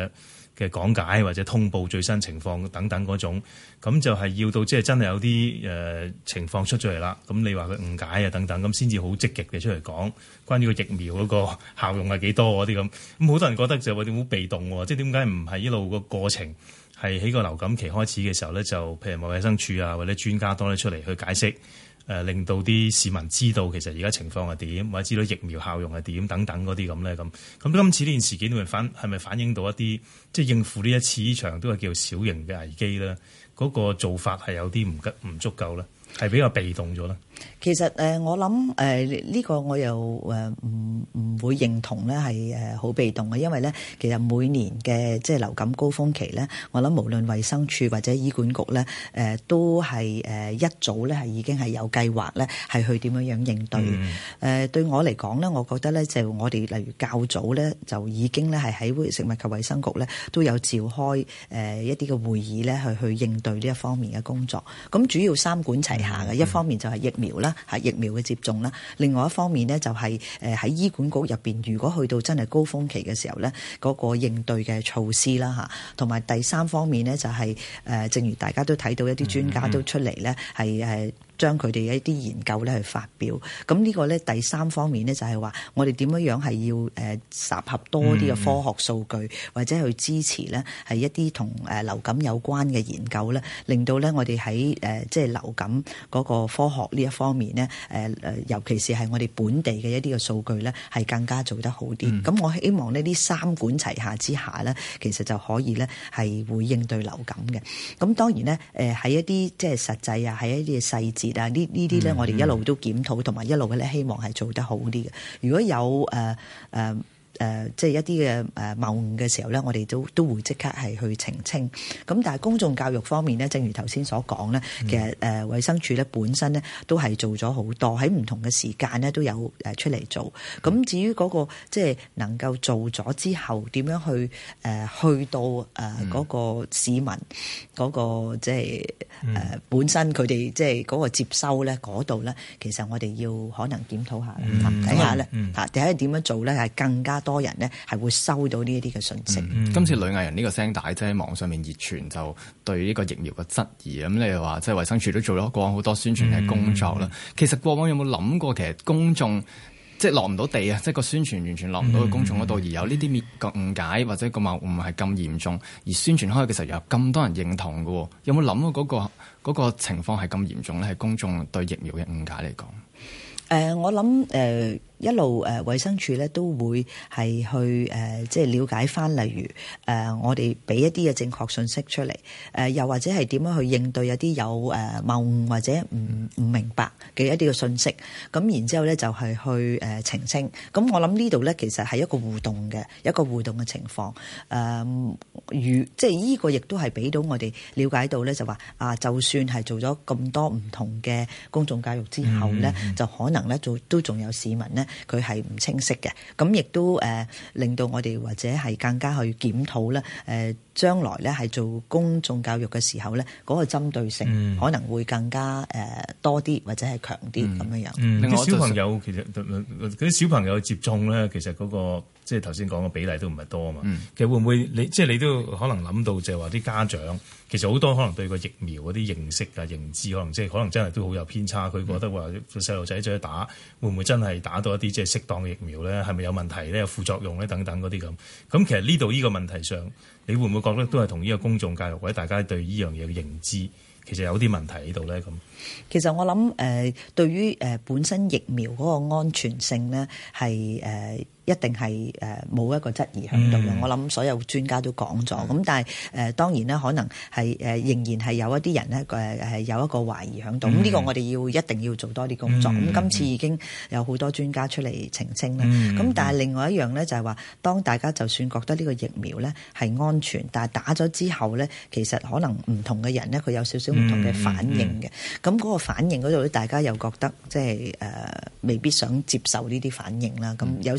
嘅講解或者通報最新情況等等嗰種，咁就係要到即係真係有啲誒、呃、情況出咗嚟啦。咁你話佢誤解啊等等，咁先至好積極嘅出嚟講關於個疫苗嗰個效用係幾多嗰啲咁。咁好多人覺得就話點好被動喎，即係點解唔係一路個過程係喺個流感期開始嘅時候咧，就譬如話衛生署啊或者專家多啲出嚟去解釋。誒、呃、令到啲市民知道其實而家情況係點，或者知道疫苗效用係點等等嗰啲咁咧咁。咁今次呢件事件會反係咪反映到一啲即係應付呢一次呢場都係叫小型嘅危機咧？嗰、那個做法係有啲唔吉唔足夠咧，係比較被動咗咧。 其實誒、呃，我諗誒呢個我又誒唔唔會認同咧，係誒好被動嘅，因為咧其實每年嘅即係流感高峰期咧，我諗無論衛生署或者醫管局咧，誒、呃、都係誒一早咧係已經係有計劃咧係去點樣樣應對。誒、嗯呃、對我嚟講咧，我覺得咧就我哋例如較早咧就已經咧係喺食物及衛生局咧都有召開誒一啲嘅會議咧去去應對呢一方面嘅工作。咁主要三管齊下嘅、嗯，一方面就係疫苗啦。係疫苗嘅接種啦，另外一方面呢，就係誒喺醫管局入邊，如果去到真係高峰期嘅時候呢，嗰個應對嘅措施啦嚇，同埋第三方面呢，就係誒，正如大家都睇到一啲專家都出嚟呢，係誒。將佢哋一啲研究咧去發表，咁呢個咧第三方面咧就係話，我哋點樣樣係要誒集合多啲嘅科學數據，嗯、或者去支持咧係一啲同誒流感有關嘅研究咧，令到咧我哋喺誒即係流感嗰個科學呢一方面咧誒誒，尤其是係我哋本地嘅一啲嘅數據咧係更加做得好啲。咁、嗯、我希望呢啲三管齊下之下咧，其實就可以咧係會應對流感嘅。咁當然咧誒喺一啲即係實際啊，喺一啲嘅細節。啊！呢呢啲咧，我哋一路都檢討，同埋一路嘅咧，希望係做得好啲嘅。如果有誒誒。呃呃誒、呃，即係一啲嘅誒謬誤嘅時候咧，我哋都都會即刻係去澄清。咁但係公眾教育方面咧，正如頭先所講咧，其實誒、呃、衛生署咧本身咧都係做咗好多，喺唔同嘅時間咧都有誒出嚟做。咁至於嗰、那個即係能夠做咗之後點樣去誒、呃、去到誒嗰、呃那個市民嗰、那個即係誒、呃、本身佢哋即係嗰個接收咧嗰度咧，其實我哋要可能檢討下睇下咧嚇，睇下點樣做咧係更加多人呢係會收到呢一啲嘅訊息。 嗯、今次女藝人呢個聲帶即係網上面熱傳，就對呢個疫苗嘅質疑。咁你又話即係衛生署都做咗過往好多宣傳嘅工作啦、嗯。其實過往有冇諗過，其實公眾即係落唔到地啊，即係個宣傳完全落唔到去公眾嗰度、嗯，而有呢啲個誤解或者個謬誤係咁嚴重，而宣傳開嘅時候有咁多人認同嘅，有冇諗過嗰、嗰個嗰個情況係咁嚴重咧？係公眾對疫苗嘅誤解嚟講。 誒、呃，我諗誒、呃、一路誒衛生署咧都會係去誒、呃、即係了解翻，例如誒、呃、我哋俾一啲嘅正確信息出嚟，誒、呃、又或者係點樣去應對一啲有誒謬誤或者唔唔明白嘅一啲嘅信息，咁然之後咧就係去誒、呃、澄清。咁我諗呢度咧其實係一個互動嘅一個互動嘅情況。誒、呃，如即係呢個亦都係俾到我哋了解到咧，就話啊，就算係做咗咁多唔同嘅公眾教育之後咧、嗯，就可能咧做都仲有市民咧，佢係唔清晰嘅，咁亦都誒、呃、令到我哋或者係更加去檢討咧，誒、呃、將來咧係做公眾教育嘅時候咧，嗰、那個針對性可能會更加誒、呃、多啲或者係強啲咁樣樣。 嗯，啲、嗯、小朋友其實嗰啲小朋友接種咧，其實嗰、那個即係頭先講嘅比例都唔係多啊嘛、嗯。其實會唔會你即係你都可能諗到就係話啲家長其實好多可能對個疫苗嗰啲認識啊認知可能即係可能真係都好有偏差，佢覺得話細路仔再打會唔會真係打到一啲即係適當嘅疫苗咧？係咪有問題咧？有副作用咧？等等嗰啲咁。咁其實呢度呢個問題上，你會唔會覺得都係同呢個公眾教育或者大家對呢樣嘢嘅認知其實有啲問題喺度咧？咁其實我諗誒、呃，對於誒、呃、本身疫苗嗰個安全性咧，係誒。呃一定係誒冇一個質疑喺度嘅，我諗所有專家都講咗。咁、嗯、但係誒、呃、當然咧，可能係誒、呃、仍然係有一啲人咧誒係有一個懷疑喺度。咁、嗯、呢、這個我哋要一定要做多啲工作。咁、嗯、今次已經有好多專家出嚟澄清啦。咁、嗯、但係另外一樣咧就係話，當大家就算覺得呢個疫苗咧係安全，但係打咗之後咧，其實可能唔同嘅人咧佢有少少唔同嘅反應嘅。咁、嗯、嗰、嗯、個反應嗰度咧，大家又覺得即係誒未必想接受呢啲反應啦。咁有時有。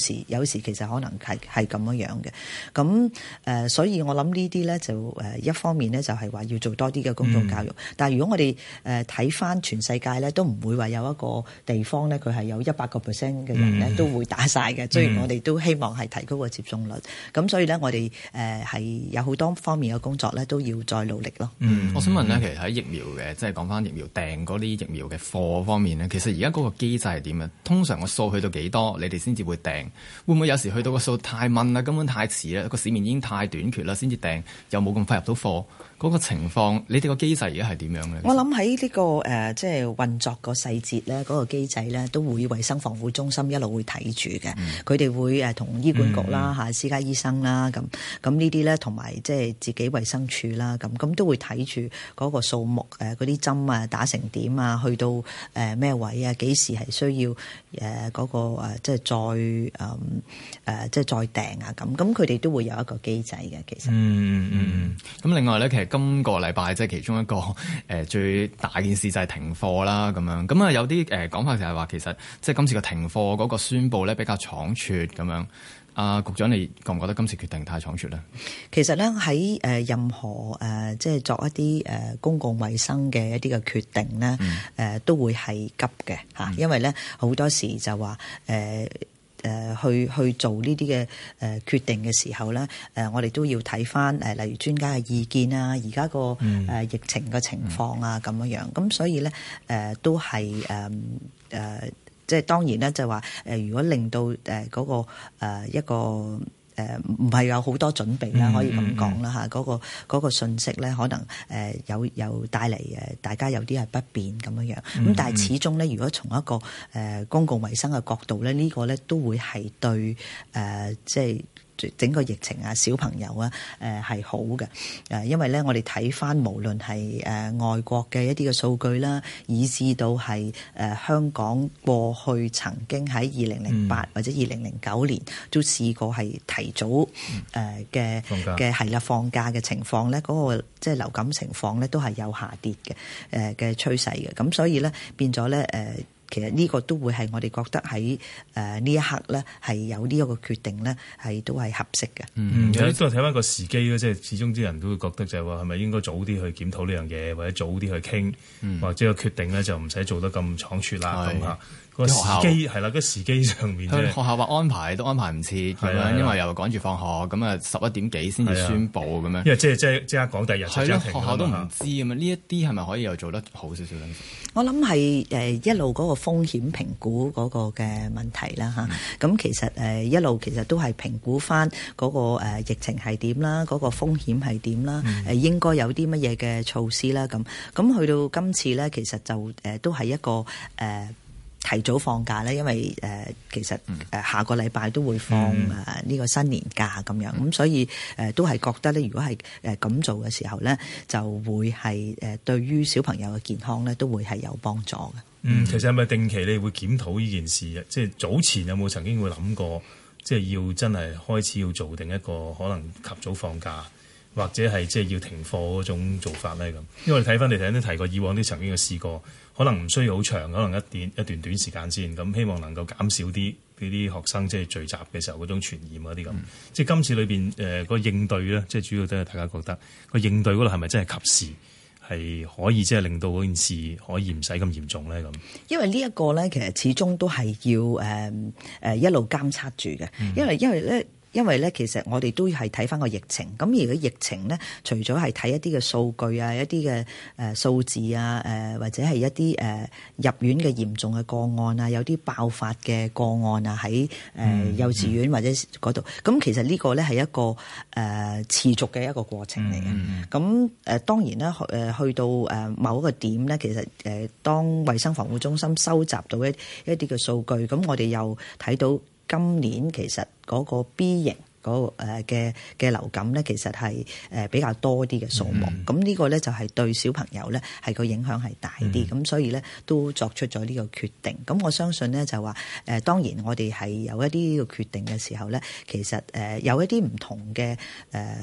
有時其實可能係係咁樣樣嘅。咁誒、呃，所以我諗呢啲咧就誒一方面咧就係話要做多啲嘅公眾教育。嗯、但係如果我哋誒睇翻全世界咧，都唔會話有一個地方咧，佢係有一百個 percent 嘅人咧、嗯、都會打晒嘅。雖然我哋都希望係提高個接種率，咁所以咧我哋誒係有好多方面嘅工作咧都要再努力咯。 嗯，我想問咧，其實喺疫苗嘅，即係講翻疫苗訂嗰啲疫苗嘅貨方面咧，其實而家嗰個機制係點啊？通常個數去到幾多，你哋先至會訂？會唔會有時去到個數太問啦，根本太遲啦，個市面已經太短缺啦，先至訂，又冇咁快入到貨？嗰、那個情況，你哋個機制而家係點樣咧？ 我諗喺呢個誒、呃，即係運作個細節咧，嗰、那個機制咧，都會衛生防護中心一路會睇住嘅。佢哋、嗯、會誒同醫管局啦、嚇、嗯、私家醫生啦，咁咁呢啲咧，同埋即係自己衛生署啦，咁咁都會睇住嗰個數目誒，嗰啲針啊打成點啊，去到誒咩、呃、位啊，幾時係需要誒嗰、呃那個誒即係再誒誒即係再訂啊咁，咁佢哋都會有一個機制嘅，其實。嗯嗯嗯。咁另外咧，其實今個禮拜即係其中一個誒、呃、最大件事就係停課啦，咁樣咁啊有啲誒講法就係話其實即係今次個停課嗰個宣佈咧比較倉促咁樣。啊、呃，局長你覺唔覺得今次決定太倉促咧？ 其實咧喺誒任何誒、呃、即係作一啲誒、呃、公共衛生嘅一啲嘅決定咧，誒、嗯呃、都會係急嘅嚇，嗯、因為咧好多時就話誒。呃誒、呃、去去做呢啲嘅誒決定嘅時候咧，誒、呃、我哋都要睇翻誒例如專家嘅意見啊，而家個誒疫情嘅情況啊咁樣樣，咁所以咧誒、呃、都係誒誒即係當然咧就話誒、呃、如果令到誒嗰個誒一個。誒唔係有好多準備啦，可以咁講啦嚇。嗰、嗯嗯嗰個嗰、嗰個信息咧，可能誒、呃、有有帶嚟誒大家有啲係不便咁樣樣。咁、嗯嗯、但係始終咧，如果從一個誒、呃、公共衛生嘅角度咧，呢、呢個咧都會係對誒、呃、即係。整個疫情啊，小朋友啊，誒係好嘅，誒因為咧，我哋睇翻無論係誒外國嘅一啲嘅數據啦，以至到係誒香港過去曾經喺二零零八或者二零零九年都試過係提早誒嘅嘅係啦放假嘅情況咧，嗰個即係流感情況咧都係有下跌嘅誒嘅趨勢嘅，咁所以咧變咗咧誒。其實呢個都會係我哋覺得喺誒呢一刻咧係有呢一個決定咧係都係合適嘅。 嗯，有啲都係睇翻個時機咯，即係始終啲人都會覺得就係話係咪應該早啲去檢討呢樣嘢，或者早啲去傾，嗯、或者個決定咧就唔使做得咁倉促啦咁嚇。個時機係啦，個時機上面即係學校話安排都安排唔切咁樣，因為又趕住放學，咁啊十一點幾先至宣佈咁樣。 因為即係即係即刻講第二日就停。 學校都唔知咁樣，呢一啲係咪可以又做得好少少咧？ 我諗係誒一路嗰個風險評估嗰個嘅問題啦嚇。咁、嗯、其實誒一路其實都係評估翻嗰個誒疫情係點啦，嗰個風險係點啦，誒、嗯、應該有啲乜嘢嘅措施啦咁。咁去到今次咧，其實就誒都係一個誒。呃提早放假咧，因為誒、呃、其實誒下個禮拜都會放誒呢、呃這個新年假咁樣，咁、嗯、所以誒、呃、都係覺得咧，如果係誒咁做嘅時候咧，就會係誒對於小朋友嘅健康咧都會係有幫助嘅。 嗯，其實係咪定期你會檢討呢件事啊？即係早前有冇曾經會諗過，即係要真係開始要做定一個可能及早放假，或者係即係要停課嗰種做法咧咁？因為我哋睇翻你頭先都提過，以往啲曾經嘅試過。可能唔需要好長，可能一段一段短時間先，咁希望能夠減少啲呢啲學生即係聚集嘅時候嗰種傳染嗰啲咁。嗯、即係今次裏邊誒個應對咧，即係主要都係大家覺得個應對嗰度係咪真係及時，係可以即係令到嗰件事可以唔使咁嚴重咧咁。 因為呢一個咧，其實始終都係要誒誒、呃、一路監測住嘅，嗯、因為因為咧。因為咧，其實我哋都係睇翻個疫情。咁而個疫情咧，除咗係睇一啲嘅數據啊、一啲嘅誒數字啊、誒、呃、或者係一啲誒、呃、入院嘅嚴重嘅個案啊，有啲爆發嘅個案啊，喺誒、呃、幼稚園或者嗰度。咁、嗯、其實呢個咧係一個誒、呃、持續嘅一個過程嚟嘅。咁誒、嗯呃、當然啦，誒、呃、去到誒某一個點咧，其實誒、呃、當衛生防護中心收集到一一啲嘅數據，咁我哋又睇到。今年其實嗰個 B 型嗰個誒嘅嘅流感咧，其實係誒比較多啲嘅數目。咁呢、嗯、個咧就係對小朋友咧係個影響係大啲。咁、嗯、所以咧都作出咗呢個決定。咁我相信咧就話誒，當然我哋係有一啲呢個決定嘅時候咧，其實誒有一啲唔同嘅誒。誒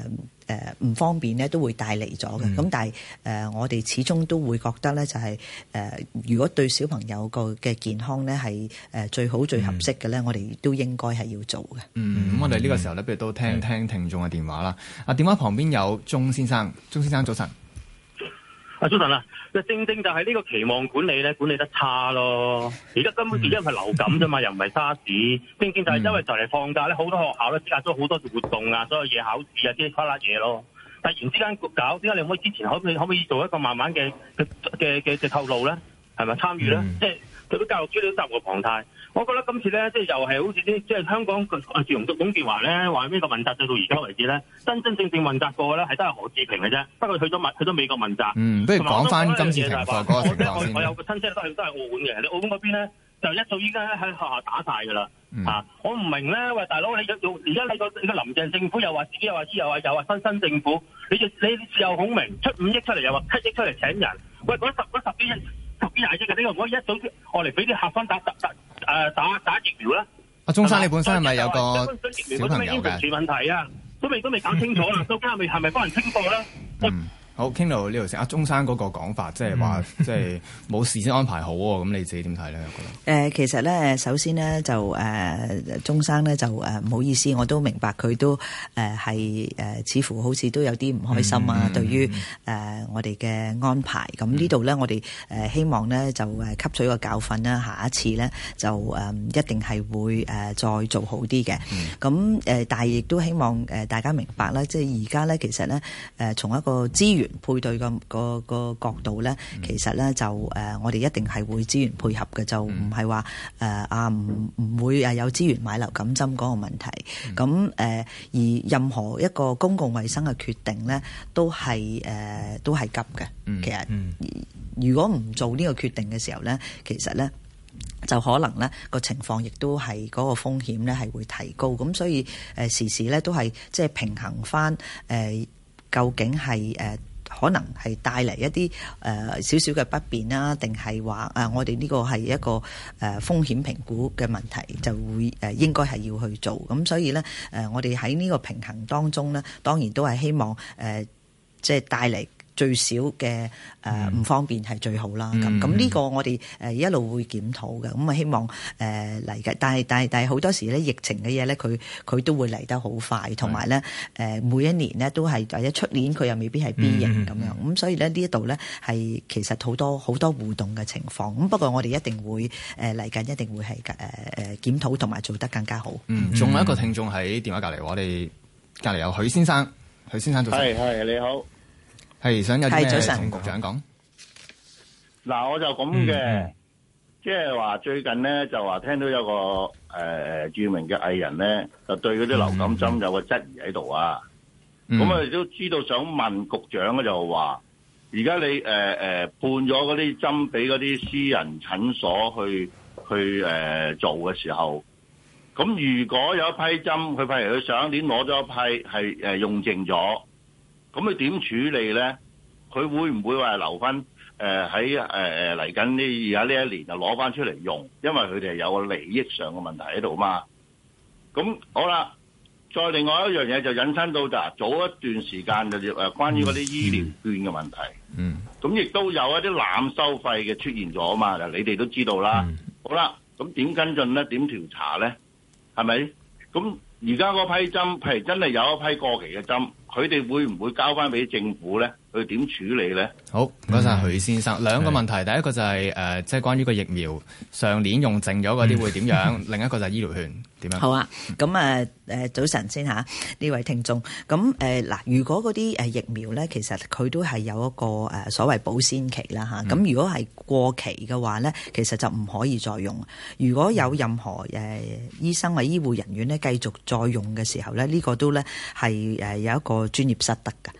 誒唔方便咧，都會帶嚟咗嘅。咁、嗯、但係誒、呃、我哋始終都會覺得咧，就係、是、誒、呃、如果對小朋友個嘅健康咧係誒最好最合適嘅咧，嗯、我哋都應該係要做嘅。 嗯，咁我哋呢個時候咧，不如都聽聽聽眾嘅電話啦。啊，電話旁邊有鍾先生，鍾先生早晨。 啊，早晨啊，就正正就係呢個期望管理咧，管理得差咯。而家根本而家唔係流感啫嘛，又唔係沙士，正正就係因為就嚟放假咧，好多學校咧設計咗好多活動啊，所有嘢考試啊，啲花啦嘢咯。突然之間搞，點解你可以之前可唔可以可唔可以做一個慢慢嘅嘅嘅嘅嘅透露咧？係咪參與咧？即係對啲教育資料責無旁貸。我覺得今次咧，即係又係好似啲即係香港啊，自從董建華咧話呢個問責制到而家為止咧，真真正正問責過咧係都係何志平嘅啫。不過去咗問去咗美國問責。 嗯，不如講翻今次情況嗰個情況先。 我有個親戚都係都係澳門嘅，你澳門嗰邊咧就一早依家喺學校打晒㗎啦。嗯、啊，我唔明咧，喂大佬，你而家你個你個林鄭政府又話自己又話知又話又話新新政府，你你事後孔明出五億出嚟又話七億出嚟請人，喂嗰十嗰十幾億十幾廿億嘅，點解唔可以一早我嚟俾啲客分打打打誒打打疫苗咧？阿鍾生，你本身係咪有個小朋友嘅？ 問題啊，都未都未搞清楚啦，究竟係咪係咪幫人清貨咧？ 嗯好，傾到呢度先。阿鍾生嗰個講法，即係話，即係冇事先安排好喎。咁你自己點睇咧？我覺得誒，其實咧，首先咧就誒，鍾、呃、生咧就誒唔、呃、好意思，我都明白佢都誒係誒，似乎好似都有啲唔開心啊。嗯、對於誒、呃、我哋嘅安排，咁呢度咧，我哋誒希望咧就誒吸取個教訓啦。下一次咧就誒、呃、一定係會誒再做好啲嘅。咁誒、嗯，但係亦都希望誒大家明白啦，即係而家咧，其實咧誒從一個資源配對個個個角度咧，其實咧就誒、呃，我哋一定係會資源配合嘅，就唔係話誒啊唔唔會誒有資源買流感針嗰個問題。咁誒、呃、而任何一個公共衛生嘅決定咧，都係誒、呃、都係急嘅。嗯、其實、嗯、如果唔做呢個決定嘅時候咧，其實咧就可能咧個情況亦都係嗰個風險咧係會提高。咁所以誒、呃、時時咧都係即係平衡翻誒、呃、究竟係誒。呃可能係帶嚟一啲誒少少嘅不便啦，定係話誒我哋呢個係一個誒、呃、風險評估嘅問題，就會誒、呃、應該係要去做。咁所以咧誒、呃，我哋喺呢個平衡當中咧，當然都係希望誒、呃、即係帶嚟最少嘅誒唔方便係最好啦。咁咁呢個我哋誒一路會檢討嘅。咁啊希望誒嚟嘅，但係但係但係好多時咧疫情嘅嘢咧，佢佢都會嚟得好快，同埋咧誒每一年咧都係或者出年佢又未必係 B 型咁樣。咁、嗯、所以咧呢一度咧係其實好多好多互動嘅情況。咁不過我哋一定會誒嚟緊一定會係誒誒檢討同埋做得更加好。 嗯，仲有一個聽眾喺電話隔離，我哋隔離有許先生，許先生早晨。 係係你好。 係想有啲咩同局長講？ 嗱，我就咁嘅，即係話最近咧就話聽到有個誒、呃、著名嘅藝人咧，就對嗰啲流感針有個質疑喺度啊。咁、嗯、我哋都知道想問局長咧，就話而家你誒誒、呃、判咗嗰啲針俾嗰啲私人診所去去誒、呃、做嘅時候，咁如果有一批針，佢譬如佢上一年攞咗一批係誒用剩咗。咁佢點處理咧？佢會唔會話留翻誒喺誒誒嚟緊呢？而家呢一年就攞翻出嚟用，因為佢哋係有個利益上嘅問題喺度嘛。咁好啦，再另外一樣嘢就引申到就早一段時間就誒關於嗰啲醫療券嘅問題。嗯。咁亦都有一啲濫收費嘅出現咗嘛？嗱，你哋都知道啦。嗯、好啦，咁點跟進咧？點調查咧？係咪？咁而家嗰批針，譬如真係有一批過期嘅針。佢哋會唔會交翻俾政府咧？佢點處理咧？ 好，唔該晒許先生。兩個問題，第一個就係、是、誒、呃，即係關於個疫苗上年用剩咗嗰啲會點樣？嗯、另一個就係醫療券點樣？ 好啊，咁啊誒早晨先嚇呢位聽眾。咁誒嗱，如果嗰啲誒疫苗咧，其實佢都係有一個誒、呃、所謂保鮮期啦嚇。咁、嗯、如果係過期嘅話咧，其實就唔可以再用。如果有任何誒、呃、醫生或醫護人員咧繼續再用嘅時候咧，呢、這個都咧係誒有一個專業失德嘅。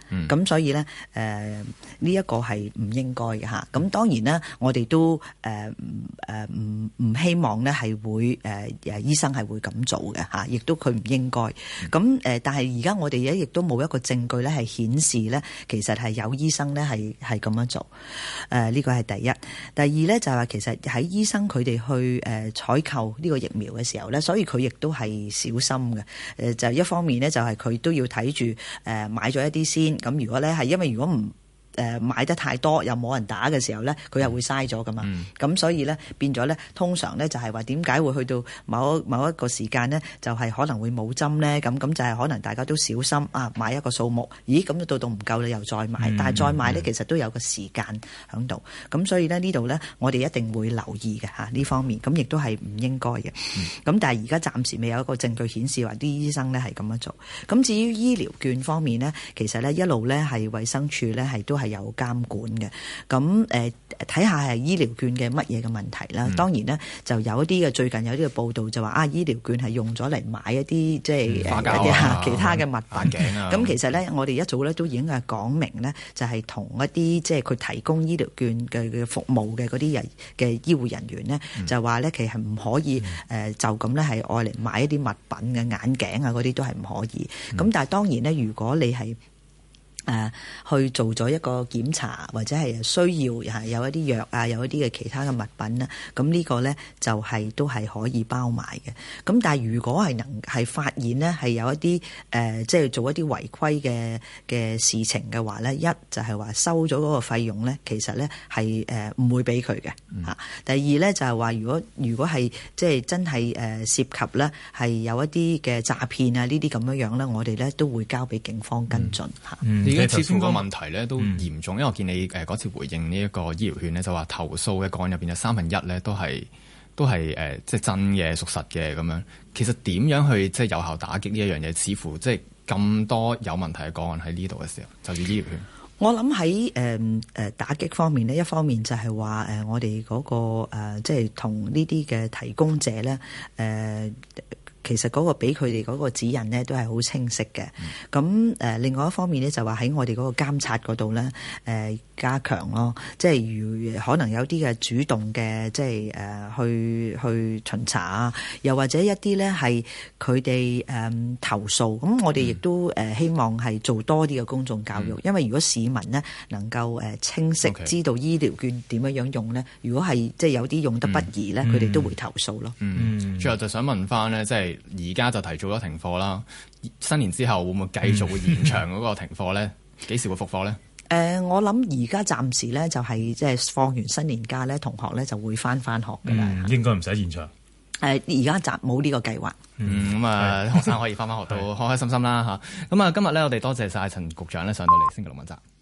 咁、嗯、所以咧誒呢一個係唔應該嘅嚇。咁當然啦，我哋都誒誒唔唔希望咧係會誒誒、呃、醫生係會咁做嘅嚇，亦都佢唔應該。咁誒、呃，但係而家我哋咧亦都冇一個證據咧係顯示咧，其實係有醫生咧係係咁樣做。誒、呃、呢、這個係第一。第二咧就係話其實喺醫生佢哋去誒採購呢個疫苗嘅時候咧，所以佢亦都係小心嘅。誒、呃、就一方面咧就係佢都要睇住誒買咗一啲先。咁如果咧係因為如果唔誒買得太多又冇人打嘅時候咧，佢又會嘥咗噶嘛。咁、嗯、所以咧變咗咧，通常咧就係話點解會去到某某一個時間咧，就係、是、可能會冇針咧。咁咁就係可能大家都小心啊，買一個數目，咦咁到到唔夠你又再買，嗯、但係再買咧、嗯、其實都有個時間喺度。咁所以咧呢度咧，我哋一定會留意嘅嚇呢方面。咁亦都係唔應該嘅。咁、嗯、但係而家暫時未有一個證據顯示話啲醫生咧係咁樣做。咁至於醫療券方面咧，其實咧一路咧係衛生署咧係都係有監管嘅，咁誒睇下係醫療券嘅乜嘢嘅問題啦。嗯、當然呢，就有一啲嘅最近有啲嘅報道就話啊，醫療券係用咗嚟買一啲即係一啲其他嘅物品。咁、啊、其實呢，我哋一早咧都已經係講明呢，就係同一啲即係佢提供醫療券嘅嘅服務嘅嗰啲人嘅醫護人員呢，嗯、就話呢，其實唔可以誒、呃、就咁呢係愛嚟買一啲物品嘅眼鏡啊嗰啲都係唔可以。咁、嗯、但係當然呢，如果你係誒、呃、去做咗一個檢查，或者係需要係有一啲藥啊，有一啲嘅其他嘅物品啦，咁呢個咧就係、是、都係可以包埋嘅。咁但係如果係能係發現呢係有一啲誒、呃、即係做一啲違規嘅嘅事情嘅話咧，一就係話收咗嗰個費用咧，其實咧係誒唔會俾佢嘅嚇。第二咧就係話如果如果係即係真係誒涉及咧係有一啲嘅詐騙啊呢啲咁樣樣咧，我哋咧都會交俾警方跟進嚇。 嗯嗯而家似乎個問題咧都嚴重，嗯、因為我見你誒嗰次回應呢一個醫療券咧，就話投訴嘅個案入邊有三分一咧都係都係誒即係真嘅屬實嘅咁樣。其實點樣去即係有效打擊呢一樣嘢？似乎即係咁多有問題嘅個案喺呢度嘅時候，就係醫療券。 我諗喺誒誒打擊方面呢，一方面就係話誒我哋嗰、那個、呃、即係同呢啲嘅提供者咧誒。呃其實嗰個俾佢哋嗰個指引呢都係好清晰嘅。咁誒、呃、另外一方面呢，就話喺我哋嗰個監察嗰度呢誒加強咯。即係如可能有啲嘅主動嘅，即係誒、呃、去去巡查啊，又或者一啲呢係佢哋誒投訴。咁我哋亦都誒、呃、希望係做多啲嘅公眾教育，嗯、因為如果市民呢能夠誒清晰知道醫療券點樣樣用呢，如果係即係有啲用得不宜呢，佢哋、嗯、都會投訴咯。嗯， 嗯最後就想問翻呢，即係。而家就提早咗停課啦，新年之後會唔會繼續會延長嗰個停課咧？幾時會復課咧？誒、 呃，我諗而家暫時咧就係即係放完新年假咧，同學咧就會翻翻學㗎啦、 嗯。應該唔使延長。誒、 呃，而家暫冇呢個計劃。 嗯，咁啊，學生可以翻翻學到開開心心啦嚇。咁啊，今日咧我哋多謝晒陳局長咧上到嚟星期六問責。